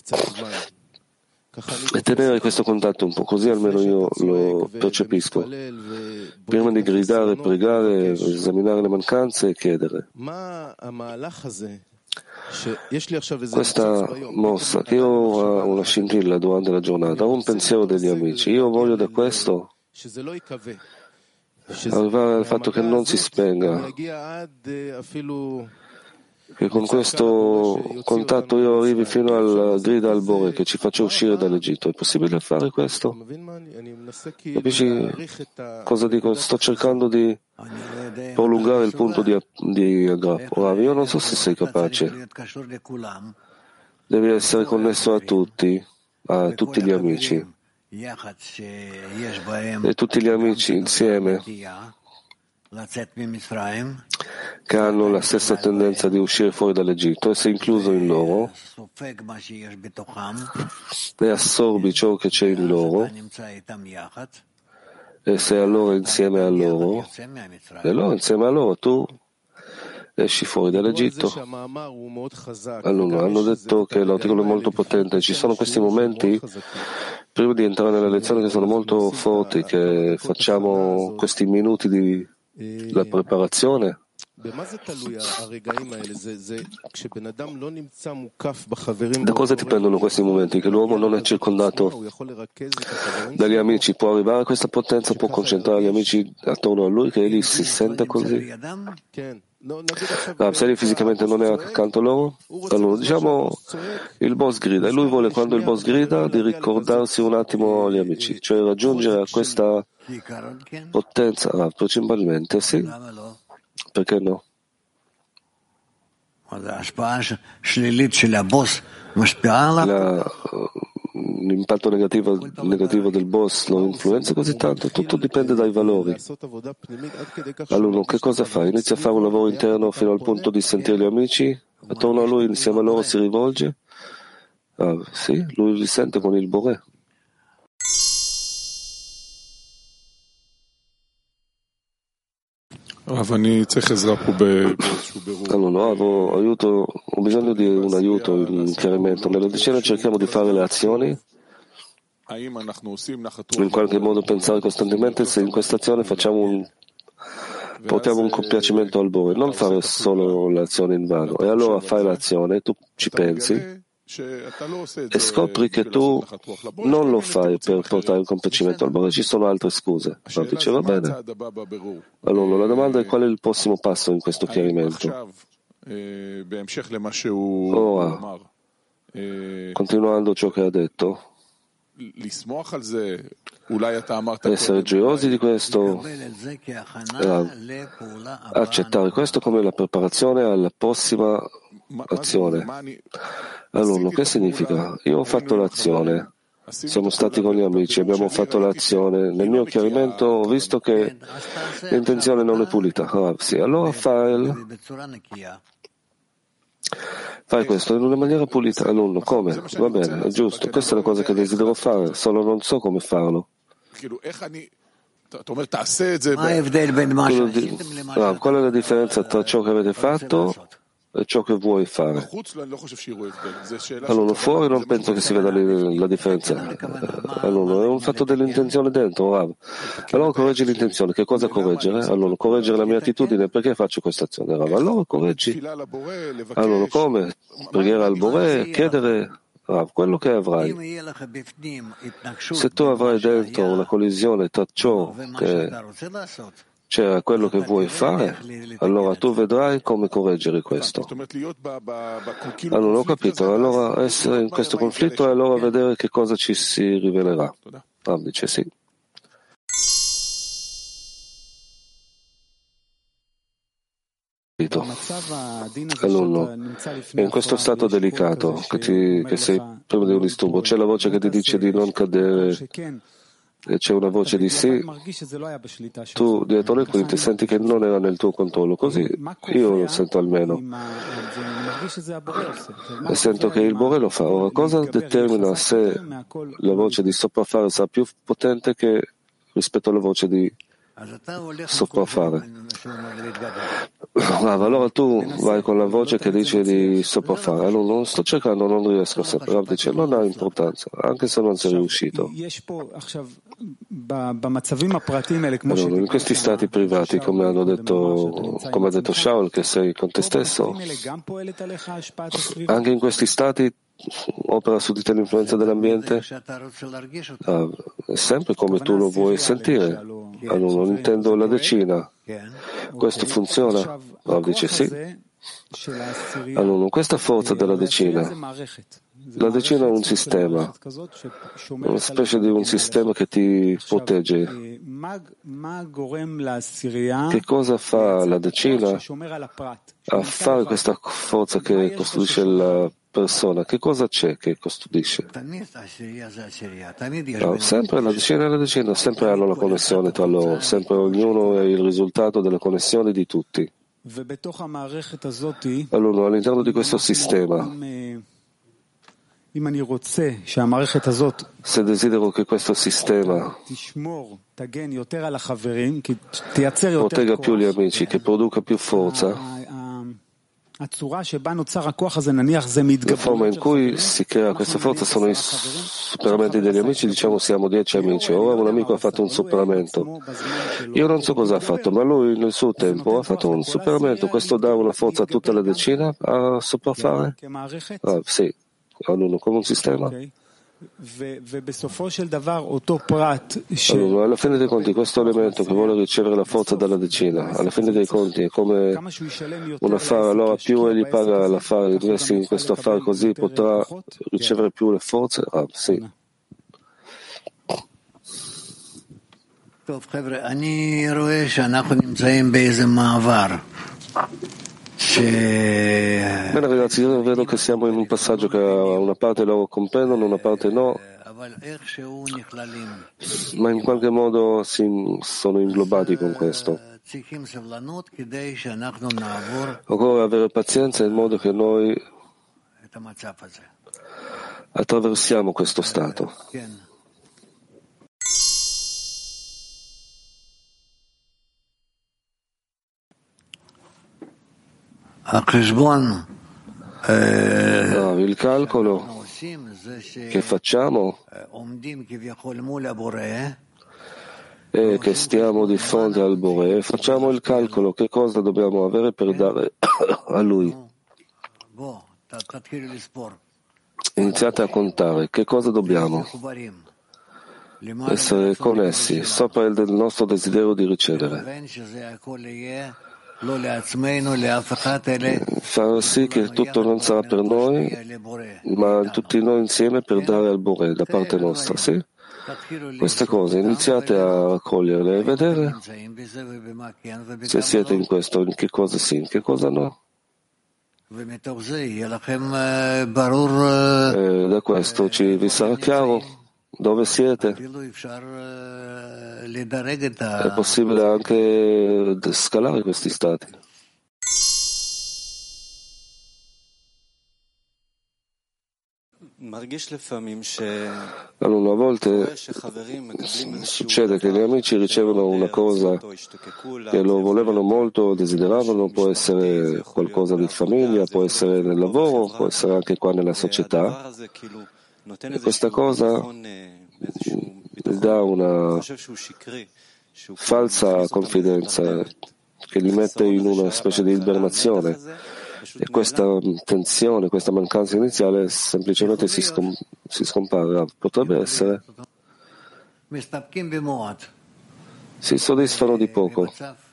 e tenere questo contatto un po', così almeno io lo percepisco. Prima di gridare, pregare, esaminare le mancanze e chiedere. Questa mossa, che io ho una scintilla durante la giornata, ho un pensiero degli amici, io voglio da questo arrivare al fatto che non si spenga, che con questo contatto io arrivi fino al grida al Bore che ci faccia uscire dall'Egitto. È possibile fare questo? Capisci cosa dico? Sto cercando di prolungare il punto di, di aggrappo. Ora, io non so se sei capace. Devi essere connesso a tutti, a tutti gli amici, e tutti gli amici insieme che hanno la stessa tendenza di uscire fuori dall'Egitto e sei incluso in loro e assorbi ciò che c'è in loro e sei allora insieme a loro e allora insieme a loro tu esci fuori dall'Egitto. Allora, hanno detto che l'articolo è molto potente. Ci sono questi momenti prima di entrare nella lezione che sono molto forti, che facciamo questi minuti di la preparazione. Da cosa dipendono questi momenti? Che l'uomo non è circondato dagli amici, può arrivare a questa potenza, può concentrare gli amici attorno a lui, che egli si sente così. Ah, se egli fisicamente non è accanto a loro, allora diciamo il boss grida e lui vuole, quando il boss grida, di ricordarsi un attimo agli amici, cioè raggiungere questa potenza. Ah, principalmente sì, perché no? La, l'impatto negativo, negativo del boss lo influenza così tanto, tutto dipende dai valori. Allora, che cosa fa? Inizia a fare un lavoro interno fino al punto di sentire gli amici, attorno a lui, insieme a loro si rivolge. Ah, sì, lui li sente con il Boré. Allora, no, aiuto, ho bisogno di un aiuto, un chiarimento. Nella decina cerchiamo di fare le azioni, in qualche modo pensare costantemente se in questa azione facciamo un, portiamo un compiacimento al Bore, non fare solo l'azione in vano. E allora fai l'azione, tu ci pensi e scopri che tu non lo fai per portare un compiacimento al Bore, ci sono altre scuse. No, dice va bene. Allora la domanda è qual è il prossimo passo in questo chiarimento. Ora, continuando ciò che ha detto, essere gioiosi di questo, accettare questo come la preparazione alla prossima azione. Allora, che significa? Io ho fatto l'azione, siamo stati con gli amici, abbiamo fatto l'azione. Nel mio chiarimento ho visto che l'intenzione non è pulita. Ah, sì, allora fai, fai questo in una maniera pulita. Allora, come? Va bene, è giusto. Questa è la cosa che desidero fare, solo non so come farlo. Ah, qual è la differenza tra ciò che avete fatto e ciò che vuoi fare? Allora, fuori non penso che si veda la differenza. Allora, è un fatto dell'intenzione dentro. Rav. Allora correggi l'intenzione. Che cosa correggere? Allora, correggere la mia attitudine. Perché faccio questa azione? Rav. Allora correggi. Allora, come? Preghiera al Boré, chiedere Rav, quello che avrai. Se tu avrai dentro una collisione tra ciò che c'era quello che vuoi fare, allora tu vedrai come correggere questo. Allora ho capito, allora essere in questo conflitto e allora vedere che cosa ci si rivelerà. Ah, dice sì. Allora, in questo stato delicato che, ti, che sei prima di un disturbo, c'è la voce che ti dice di non cadere e c'è una voce di sì, tu dietro le quinte senti che non era nel tuo controllo, così io lo sento almeno e sento che il Boré lo fa. Ora, cosa determina se la voce di sopraffare sarà più potente che rispetto alla voce di sopraffare? Allora tu vai con la voce che dice di sopraffare. Allora non sto cercando, non riesco sempre. Rav dice non ha importanza, anche se non sei riuscito. Allora, in questi stati privati, come hanno detto, come ha detto Shaul, che sei con te stesso, anche in questi stati opera su di te l'influenza dell'ambiente? Ah, è sempre come tu lo vuoi sentire. Allora, non intendo la decina. Questo funziona? Rav dice sì. Allora, questa forza della decina, la decina è un sistema, una specie di un sistema che ti protegge. Che cosa fa la decina a fare questa forza che costruisce la persona, che cosa c'è che custodisce? No, sempre la decina e la decina, sempre hanno la connessione tra loro, sempre ognuno è il risultato della connessione di tutti. Allora, all'interno di questo sistema, se desidero che questo sistema protegga più gli amici, che produca più forza, la forma in cui si crea questa forza sono i superamenti degli amici, diciamo siamo dieci amici, ora un amico ha fatto un superamento, io non so cosa ha fatto, ma lui nel suo tempo ha fatto un superamento, questo dà una forza a tutta la decina a sopraffare? Ah, sì, come un sistema. Allora, alla fine dei conti questo elemento che vuole ricevere la forza dalla decina, alla fine dei conti è come un affare, allora più egli paga l'affare, investi in questo affare così potrà ricevere più le forze? Ah, sì. Bene ragazzi, io vedo che siamo in un passaggio che una parte loro comprendono, una parte no, ma in qualche modo si sono inglobati con questo. Occorre avere pazienza in modo che noi attraversiamo questo stato. No, il calcolo che facciamo è che stiamo di fronte al Bore, facciamo il calcolo che cosa dobbiamo avere per dare a Lui. Iniziate a contare che cosa dobbiamo. Essere connessi sopra il del nostro desiderio di ricevere. Far sì che tutto non sarà per noi, ma tutti noi insieme per dare al Bore da parte nostra, sì? Queste cose iniziate a raccoglierle e vedere se siete in questo, in che cosa sì, in che cosa no. E da questo ci vi sarà chiaro dove siete. È possibile anche scalare questi stati. Allora, a volte succede che gli amici ricevono una cosa che lo volevano molto, desideravano, può essere qualcosa di famiglia, può essere nel lavoro, può essere anche qua nella società. E questa cosa dà una falsa confidenza che li mette in una specie di ibernazione. E questa tensione, questa mancanza iniziale semplicemente si, scom- si scompare. Potrebbe essere. Si soddisfano di poco.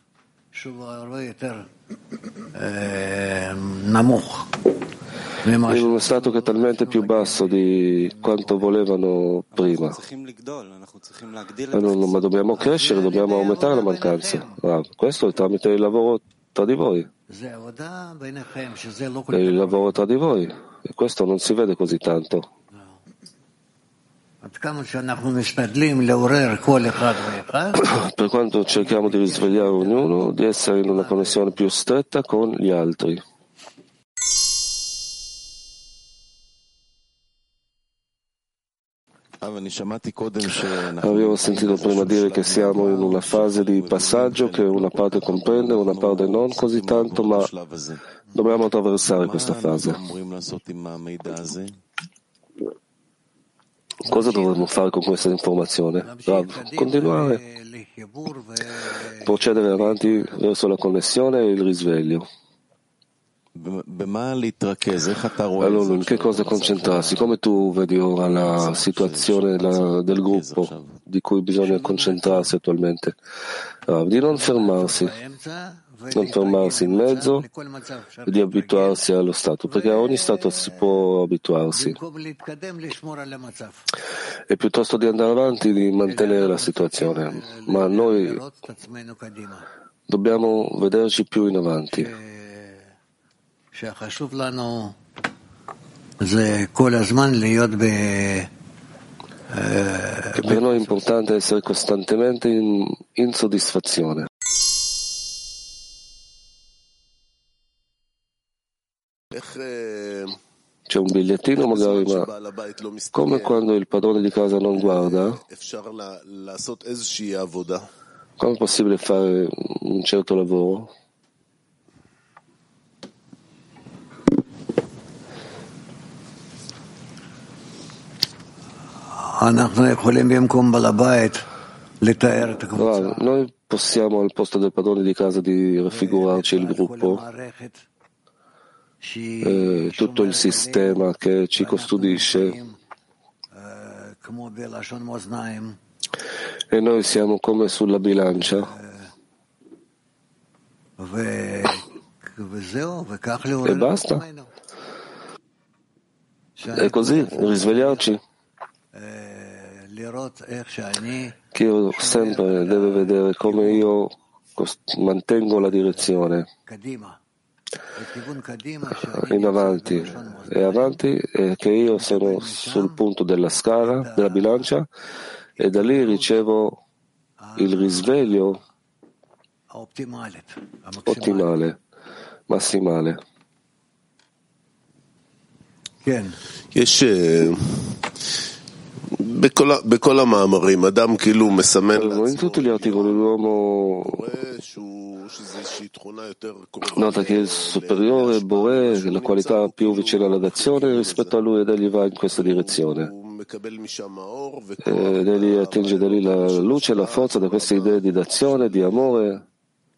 In uno stato che è talmente più basso di quanto volevano prima. Allora, ma dobbiamo crescere, dobbiamo aumentare la mancanza. Ah, questo è tramite il lavoro tra di voi. È il lavoro tra di voi e questo non si vede così tanto. Per quanto cerchiamo di risvegliare ognuno, di essere in una connessione più stretta con gli altri. Avevo sentito prima dire che siamo in una fase di passaggio che una parte comprende, una parte non così tanto, ma dobbiamo attraversare questa fase. Cosa dovremmo fare con questa informazione? Rav, continuare, procedere avanti verso la connessione e il risveglio. Allora, in che cosa concentrarsi? Come tu vedi ora la situazione la, del gruppo di cui bisogna concentrarsi attualmente? Uh, di non fermarsi, non fermarsi in mezzo e di abituarsi allo stato, perché a ogni stato si può abituarsi. E piuttosto di andare avanti, di mantenere la situazione. Ma noi dobbiamo vederci più in avanti. Che per noi è importante essere costantemente in insoddisfazione. C'è un bigliettino magari, ma come quando il padrone di casa non guarda, come è possibile fare un certo lavoro? Noi possiamo al posto del padrone di casa di raffigurarci il gruppo, eh, tutto il sistema che ci custodisce, e noi siamo come sulla bilancia, e basta. E così risvegliarci. Che io sempre devo vedere come io mantengo la direzione in avanti e avanti, e che io sono sul punto della scala, della bilancia, e da lì ricevo il risveglio ottimale, massimale. In tutti gli articoli l'uomo nota che il superiore Boré, la qualità più vicina all'azione rispetto a lui, ed egli va in questa direzione. Ed egli attinge da lì la luce e la forza da queste idee di d'azione, di amore.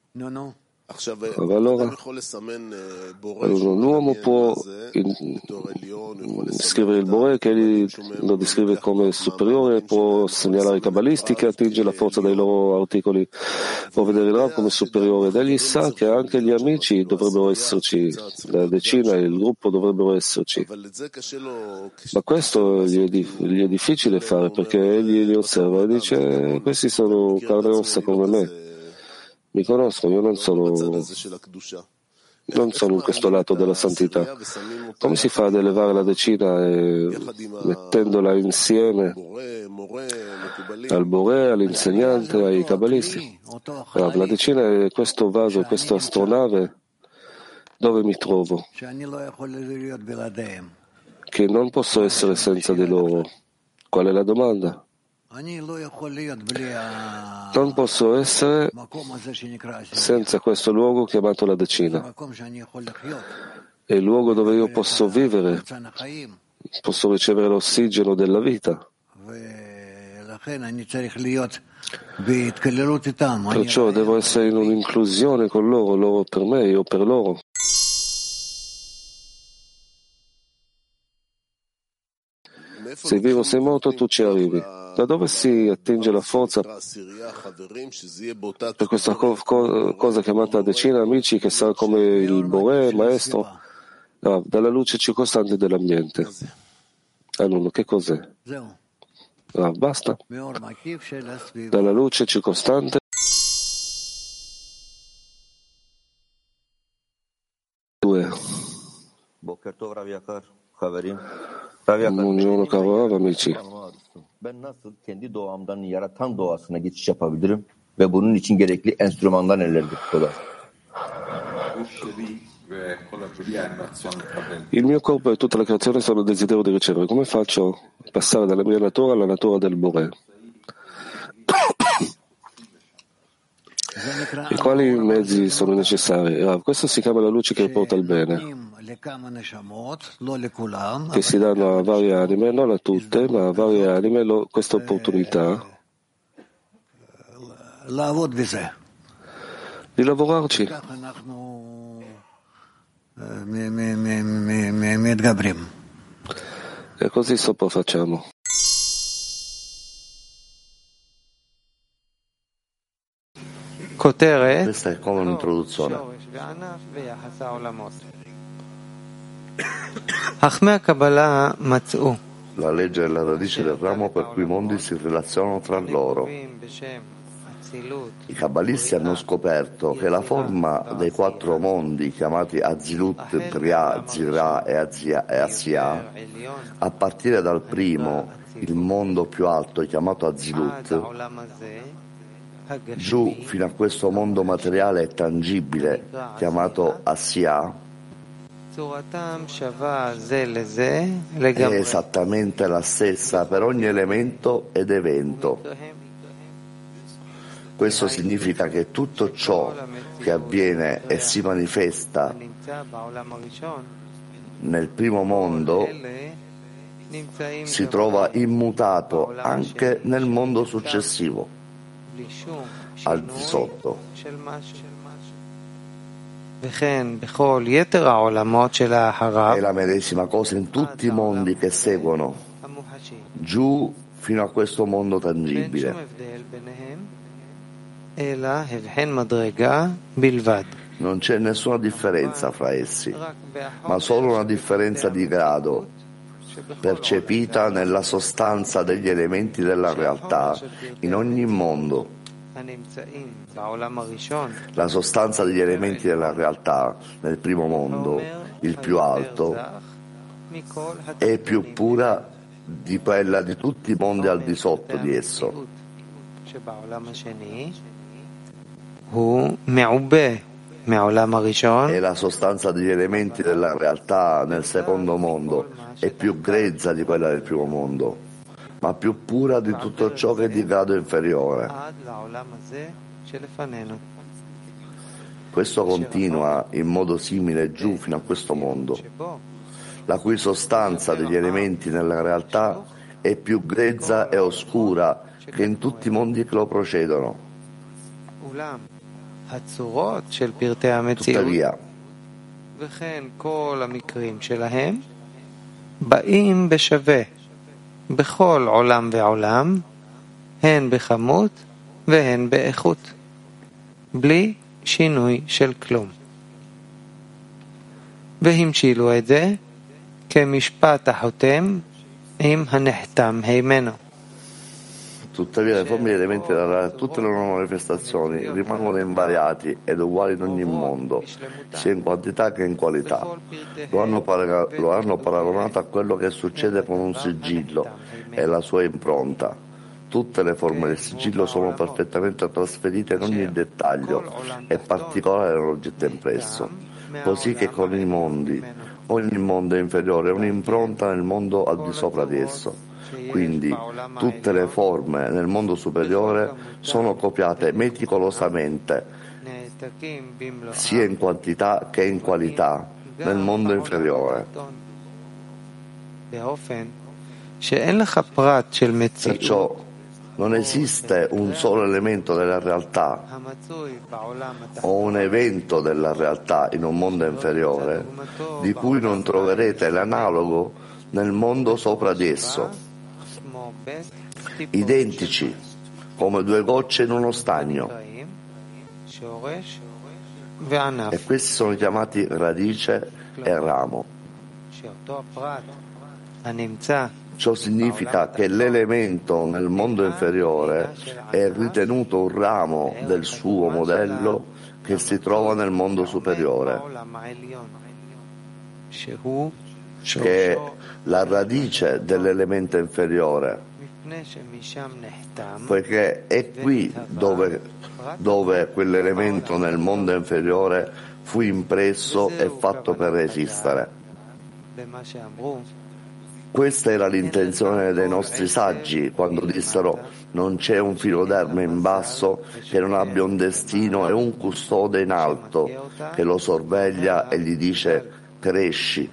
Allora, l'uomo può scrivere il Boré, che egli lo descrive come superiore, può segnalare i cabalisti che attinge la forza dai loro articoli, può vedere il Rav come superiore, ed egli sa che anche gli amici dovrebbero esserci, la decina e il gruppo dovrebbero esserci. Ma questo gli è, di, gli è difficile fare, perché egli li osserva e dice: questi sono carne e ossa come me. Mi conosco, io non sono, non sono in questo lato della santità. Come si fa ad elevare la decina e mettendola insieme al Boré, all'insegnante, ai cabalisti? La decina è questo vaso, questa astronave, dove mi trovo, che non posso essere senza di loro. Qual è la domanda? Non posso essere senza questo luogo chiamato la decina. È il luogo dove io posso vivere, posso ricevere l'ossigeno della vita. Perciò devo essere in un'inclusione con loro, loro per me, io per loro. Se vivo, sei morto, tu ci arrivi. Da dove si attinge la forza per questa co- cosa chiamata decina, amici, che sarà come il Boré, maestro? No, dalla luce circostante dell'ambiente. Allora, che cos'è? No, basta. Dalla luce circostante. Due. Buongiorno caro Rav, amici. Ben nasıl kendi doğamdan yaratan doğasına geçiş yapabilirim ve bunun için gerekli enstrümanlar nelerdir? Il mio corpo e tutta la creazione sono desiderio di ricevere. Come faccio a passare dalla mia natura alla natura del Boré? E quali mezzi sono necessari? Ah, questo si chiama la luce che porta al bene, che si danno a varie anime, non a tutte, ma a varie anime lo, questa opportunità di lavorarci. E così sopraffacciamo. Questa è come un'introduzione. La legge è la radice del ramo per cui i mondi si relazionano tra loro. I kabbalisti hanno scoperto che la forma dei quattro mondi chiamati Azilut, Bria, Zira e Asiya, a partire dal primo, il mondo più alto chiamato Azilut, giù fino a questo mondo materiale e tangibile chiamato Asiya, è esattamente la stessa per ogni elemento ed evento. Questo significa che tutto ciò che avviene e si manifesta nel primo mondo si trova immutato anche nel mondo successivo, al di sotto. È la medesima cosa in tutti i mondi che seguono, giù fino a questo mondo tangibile. Non c'è nessuna differenza fra essi, ma solo una differenza di grado, percepita nella sostanza degli elementi della realtà in ogni mondo. La sostanza degli elementi della realtà nel primo mondo, il più alto, è più pura di quella di tutti i mondi al di sotto di esso. E la sostanza degli elementi della realtà nel secondo mondo è più grezza di quella del primo mondo, ma più pura di tutto ciò che è di grado inferiore. Questo continua in modo simile giù fino a questo mondo, la cui sostanza degli elementi nella realtà è più grezza e oscura che in tutti i mondi che lo precedono. Tuttavia, בלי שינוי של כלום. והמשילו את זה כמשפט החותם עם הנחתם הימנו. Tuttavia le forme e gli elementi della tutte le loro manifestazioni rimangono invariati ed uguali in ogni mondo, sia in quantità che in qualità. Lo hanno, paraga- lo hanno paragonato a quello che succede con un sigillo e la sua impronta. Tutte le forme del sigillo sono perfettamente trasferite in ogni dettaglio e particolare nell'oggetto impresso, così che con i mondi, ogni mondo è inferiore a un'impronta nel mondo al di sopra di esso. Quindi tutte le forme nel mondo superiore sono copiate meticolosamente, sia in quantità che in qualità, nel mondo inferiore. Perciò non esiste un solo elemento della realtà o un evento della realtà in un mondo inferiore di cui non troverete l'analogo nel mondo sopra di esso, identici come due gocce in uno stagno, e questi sono chiamati radice e ramo. Ciò significa che l'elemento nel mondo inferiore è ritenuto un ramo del suo modello che si trova nel mondo superiore, che è la radice dell'elemento inferiore, poiché è qui dove, dove quell'elemento nel mondo inferiore fu impresso e fatto per esistere. Questa era l'intenzione dei nostri saggi quando dissero: non c'è un filo d'erba in basso che non abbia un destino e un custode in alto che lo sorveglia e gli dice cresci.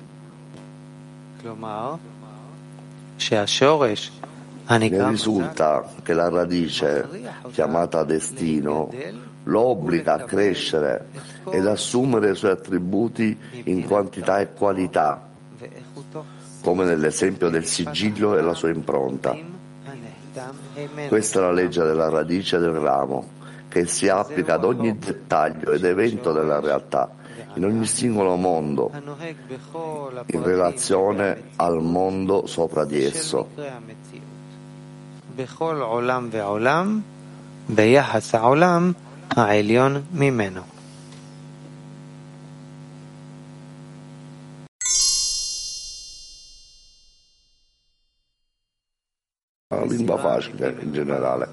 Ne risulta che la radice, chiamata destino, lo obbliga a crescere ed assumere i suoi attributi in quantità e qualità, come nell'esempio del sigillo e la sua impronta. Questa è la legge della radice del ramo, che si applica ad ogni dettaglio ed evento della realtà, in ogni singolo mondo, in relazione al mondo sopra di esso. ביחס העולם העליון ממנו. Una lingua facile in generale.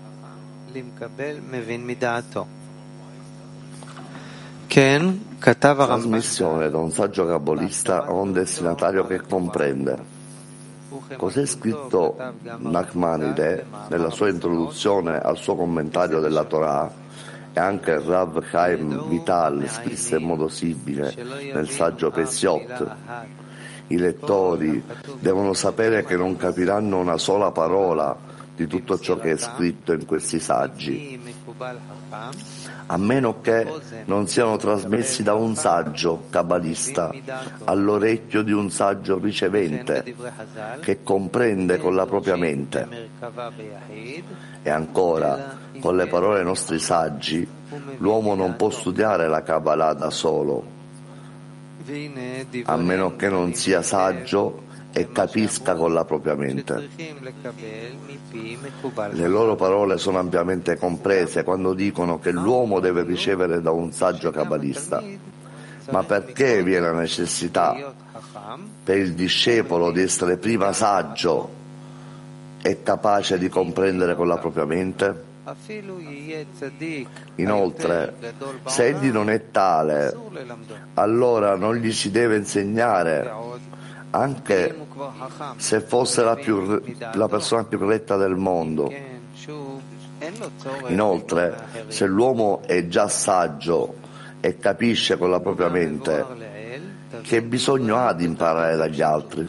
Trasmissione da un saggio cabalista a un destinatario che comprende. Cos'è scritto Nachmanide nella sua introduzione al suo commentario della Torah, e anche Rav Chaim Vital scrisse in modo simile nel saggio Pesiot. I lettori devono sapere che non capiranno una sola parola di tutto ciò che è scritto in questi saggi, a meno che non siano trasmessi da un saggio cabalista all'orecchio di un saggio ricevente che comprende con la propria mente. E ancora, con le parole dei nostri saggi, l'uomo non può studiare la Kabbalah da solo, a meno che non sia saggio e capisca con la propria mente. Le loro parole sono ampiamente comprese quando dicono che l'uomo deve ricevere da un saggio cabalista. Ma perché vi è la necessità per il discepolo di essere prima saggio e capace di comprendere con la propria mente? Inoltre, se egli non è tale, allora non gli si deve insegnare, anche se fosse la, più, la persona più retta del mondo. Inoltre, se l'uomo è già saggio e capisce con la propria mente, che bisogno ha di imparare dagli altri?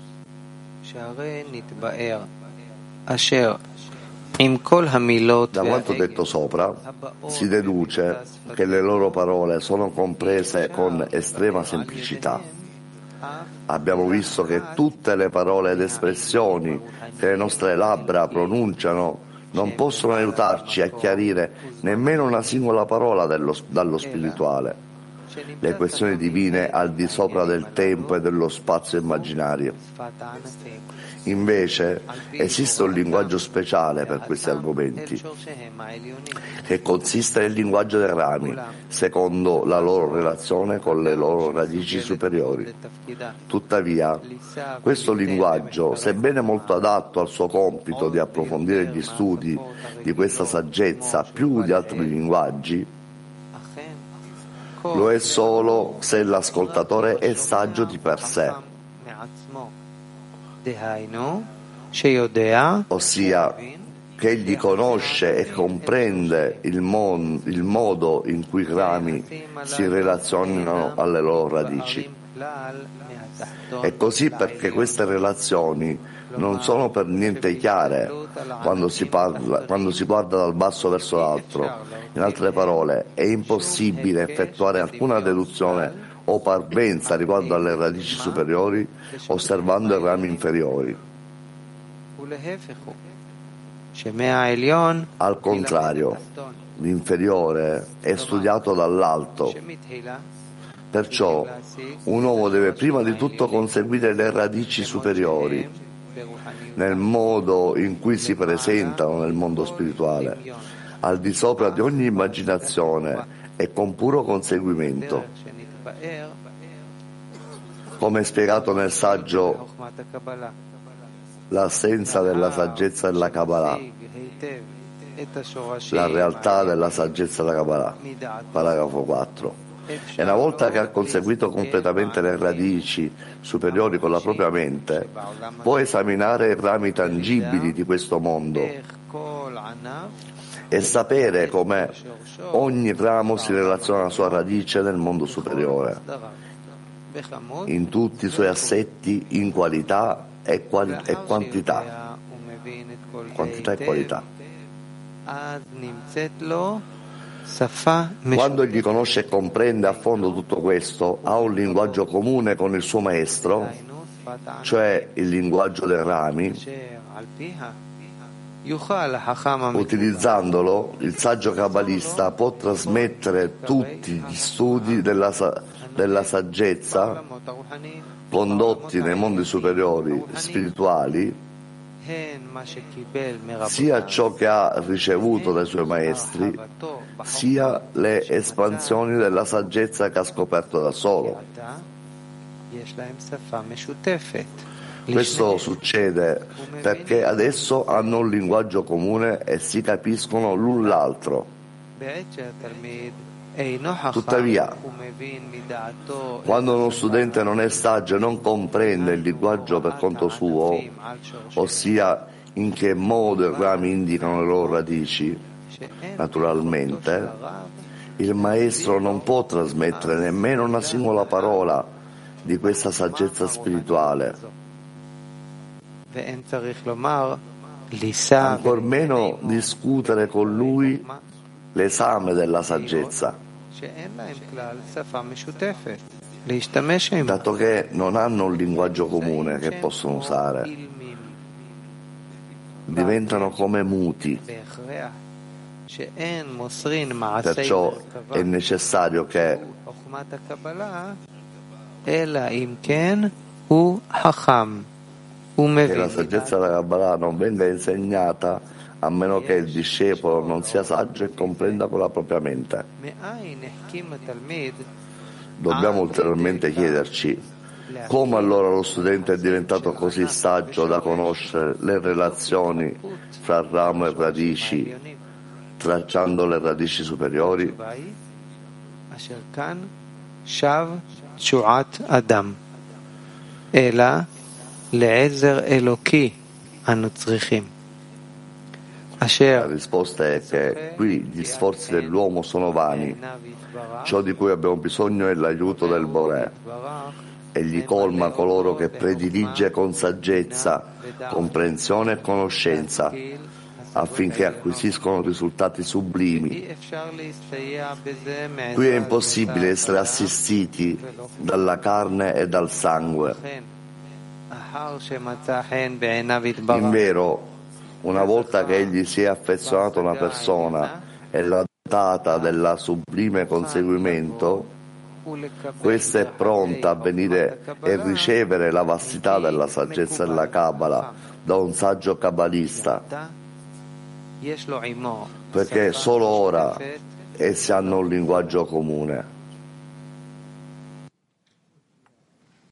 Da quanto detto sopra, si deduce che le loro parole sono comprese con estrema semplicità. Abbiamo visto che tutte le parole ed espressioni che le nostre labbra pronunciano non possono aiutarci a chiarire nemmeno una singola parola dello, dallo spirituale, le questioni divine al di sopra del tempo e dello spazio immaginario. Invece esiste un linguaggio speciale per questi argomenti, che consiste nel linguaggio dei rami, secondo la loro relazione con le loro radici superiori. Tuttavia, questo linguaggio, sebbene molto adatto al suo compito di approfondire gli studi di questa saggezza più di altri linguaggi, lo è solo se l'ascoltatore è saggio di per sé, ossia che egli conosce e comprende il, mon, il modo in cui i rami si relazionano alle loro radici. E così perché queste relazioni non sono per niente chiare quando si, parla, quando si guarda dal basso verso l'altro. In altre parole, è impossibile effettuare alcuna deduzione o parvenza riguardo alle radici superiori osservando i rami inferiori. Al contrario, l'inferiore è studiato dall'alto. Perciò un uomo deve prima di tutto conseguire le radici superiori nel modo in cui si presentano nel mondo spirituale, al di sopra di ogni immaginazione e con puro conseguimento. Come spiegato nel saggio L'assenza della saggezza della Kabbalah, la realtà della saggezza della Kabbalah, paragrafo quattro. E una volta che ha conseguito completamente le radici superiori con la propria mente, può esaminare i rami tangibili di questo mondo e sapere come ogni ramo si relaziona alla sua radice nel mondo superiore, in tutti i suoi assetti, in qualità e, quali- e quantità. Quantità e qualità. Quando egli conosce e comprende a fondo tutto questo, ha un linguaggio comune con il suo maestro, cioè il linguaggio dei rami. Utilizzandolo, il saggio kabbalista può trasmettere tutti gli studi della, della saggezza condotti nei mondi superiori spirituali sia ciò che ha ricevuto dai suoi maestri, sia le espansioni della saggezza che ha scoperto da solo. Questo succede perché adesso hanno un linguaggio comune e si capiscono l'un l'altro. Tuttavia, quando uno studente non è saggio e non comprende il linguaggio per conto suo, ossia in che modo i rami indicano le loro radici, naturalmente, il maestro non può trasmettere nemmeno una singola parola di questa saggezza spirituale. Ancor meno discutere con lui l'esame della saggezza, dato che non hanno un linguaggio comune che possono usare, diventano come muti. Perciò è necessario che che la saggezza della Kabbalah non venga insegnata a meno che il discepolo non sia saggio e comprenda con la propria mente. Dobbiamo ulteriormente chiederci come allora lo studente è diventato così saggio da conoscere le relazioni fra ramo e radici, tracciando le radici superiori. La risposta è che qui gli sforzi dell'uomo sono vani. Ciò di cui abbiamo bisogno è l'aiuto del Boré. Egli colma coloro che predilige con saggezza, comprensione e conoscenza, affinché acquisiscono risultati sublimi. Qui è impossibile essere assistiti dalla carne e dal sangue. Invero, una volta che egli si è affezionato a una persona e l'ha dotata della sublime conseguimento, questa è pronta a venire e ricevere la vastità della saggezza della Kabbalah da un saggio kabbalista, perché solo ora essi hanno un linguaggio comune.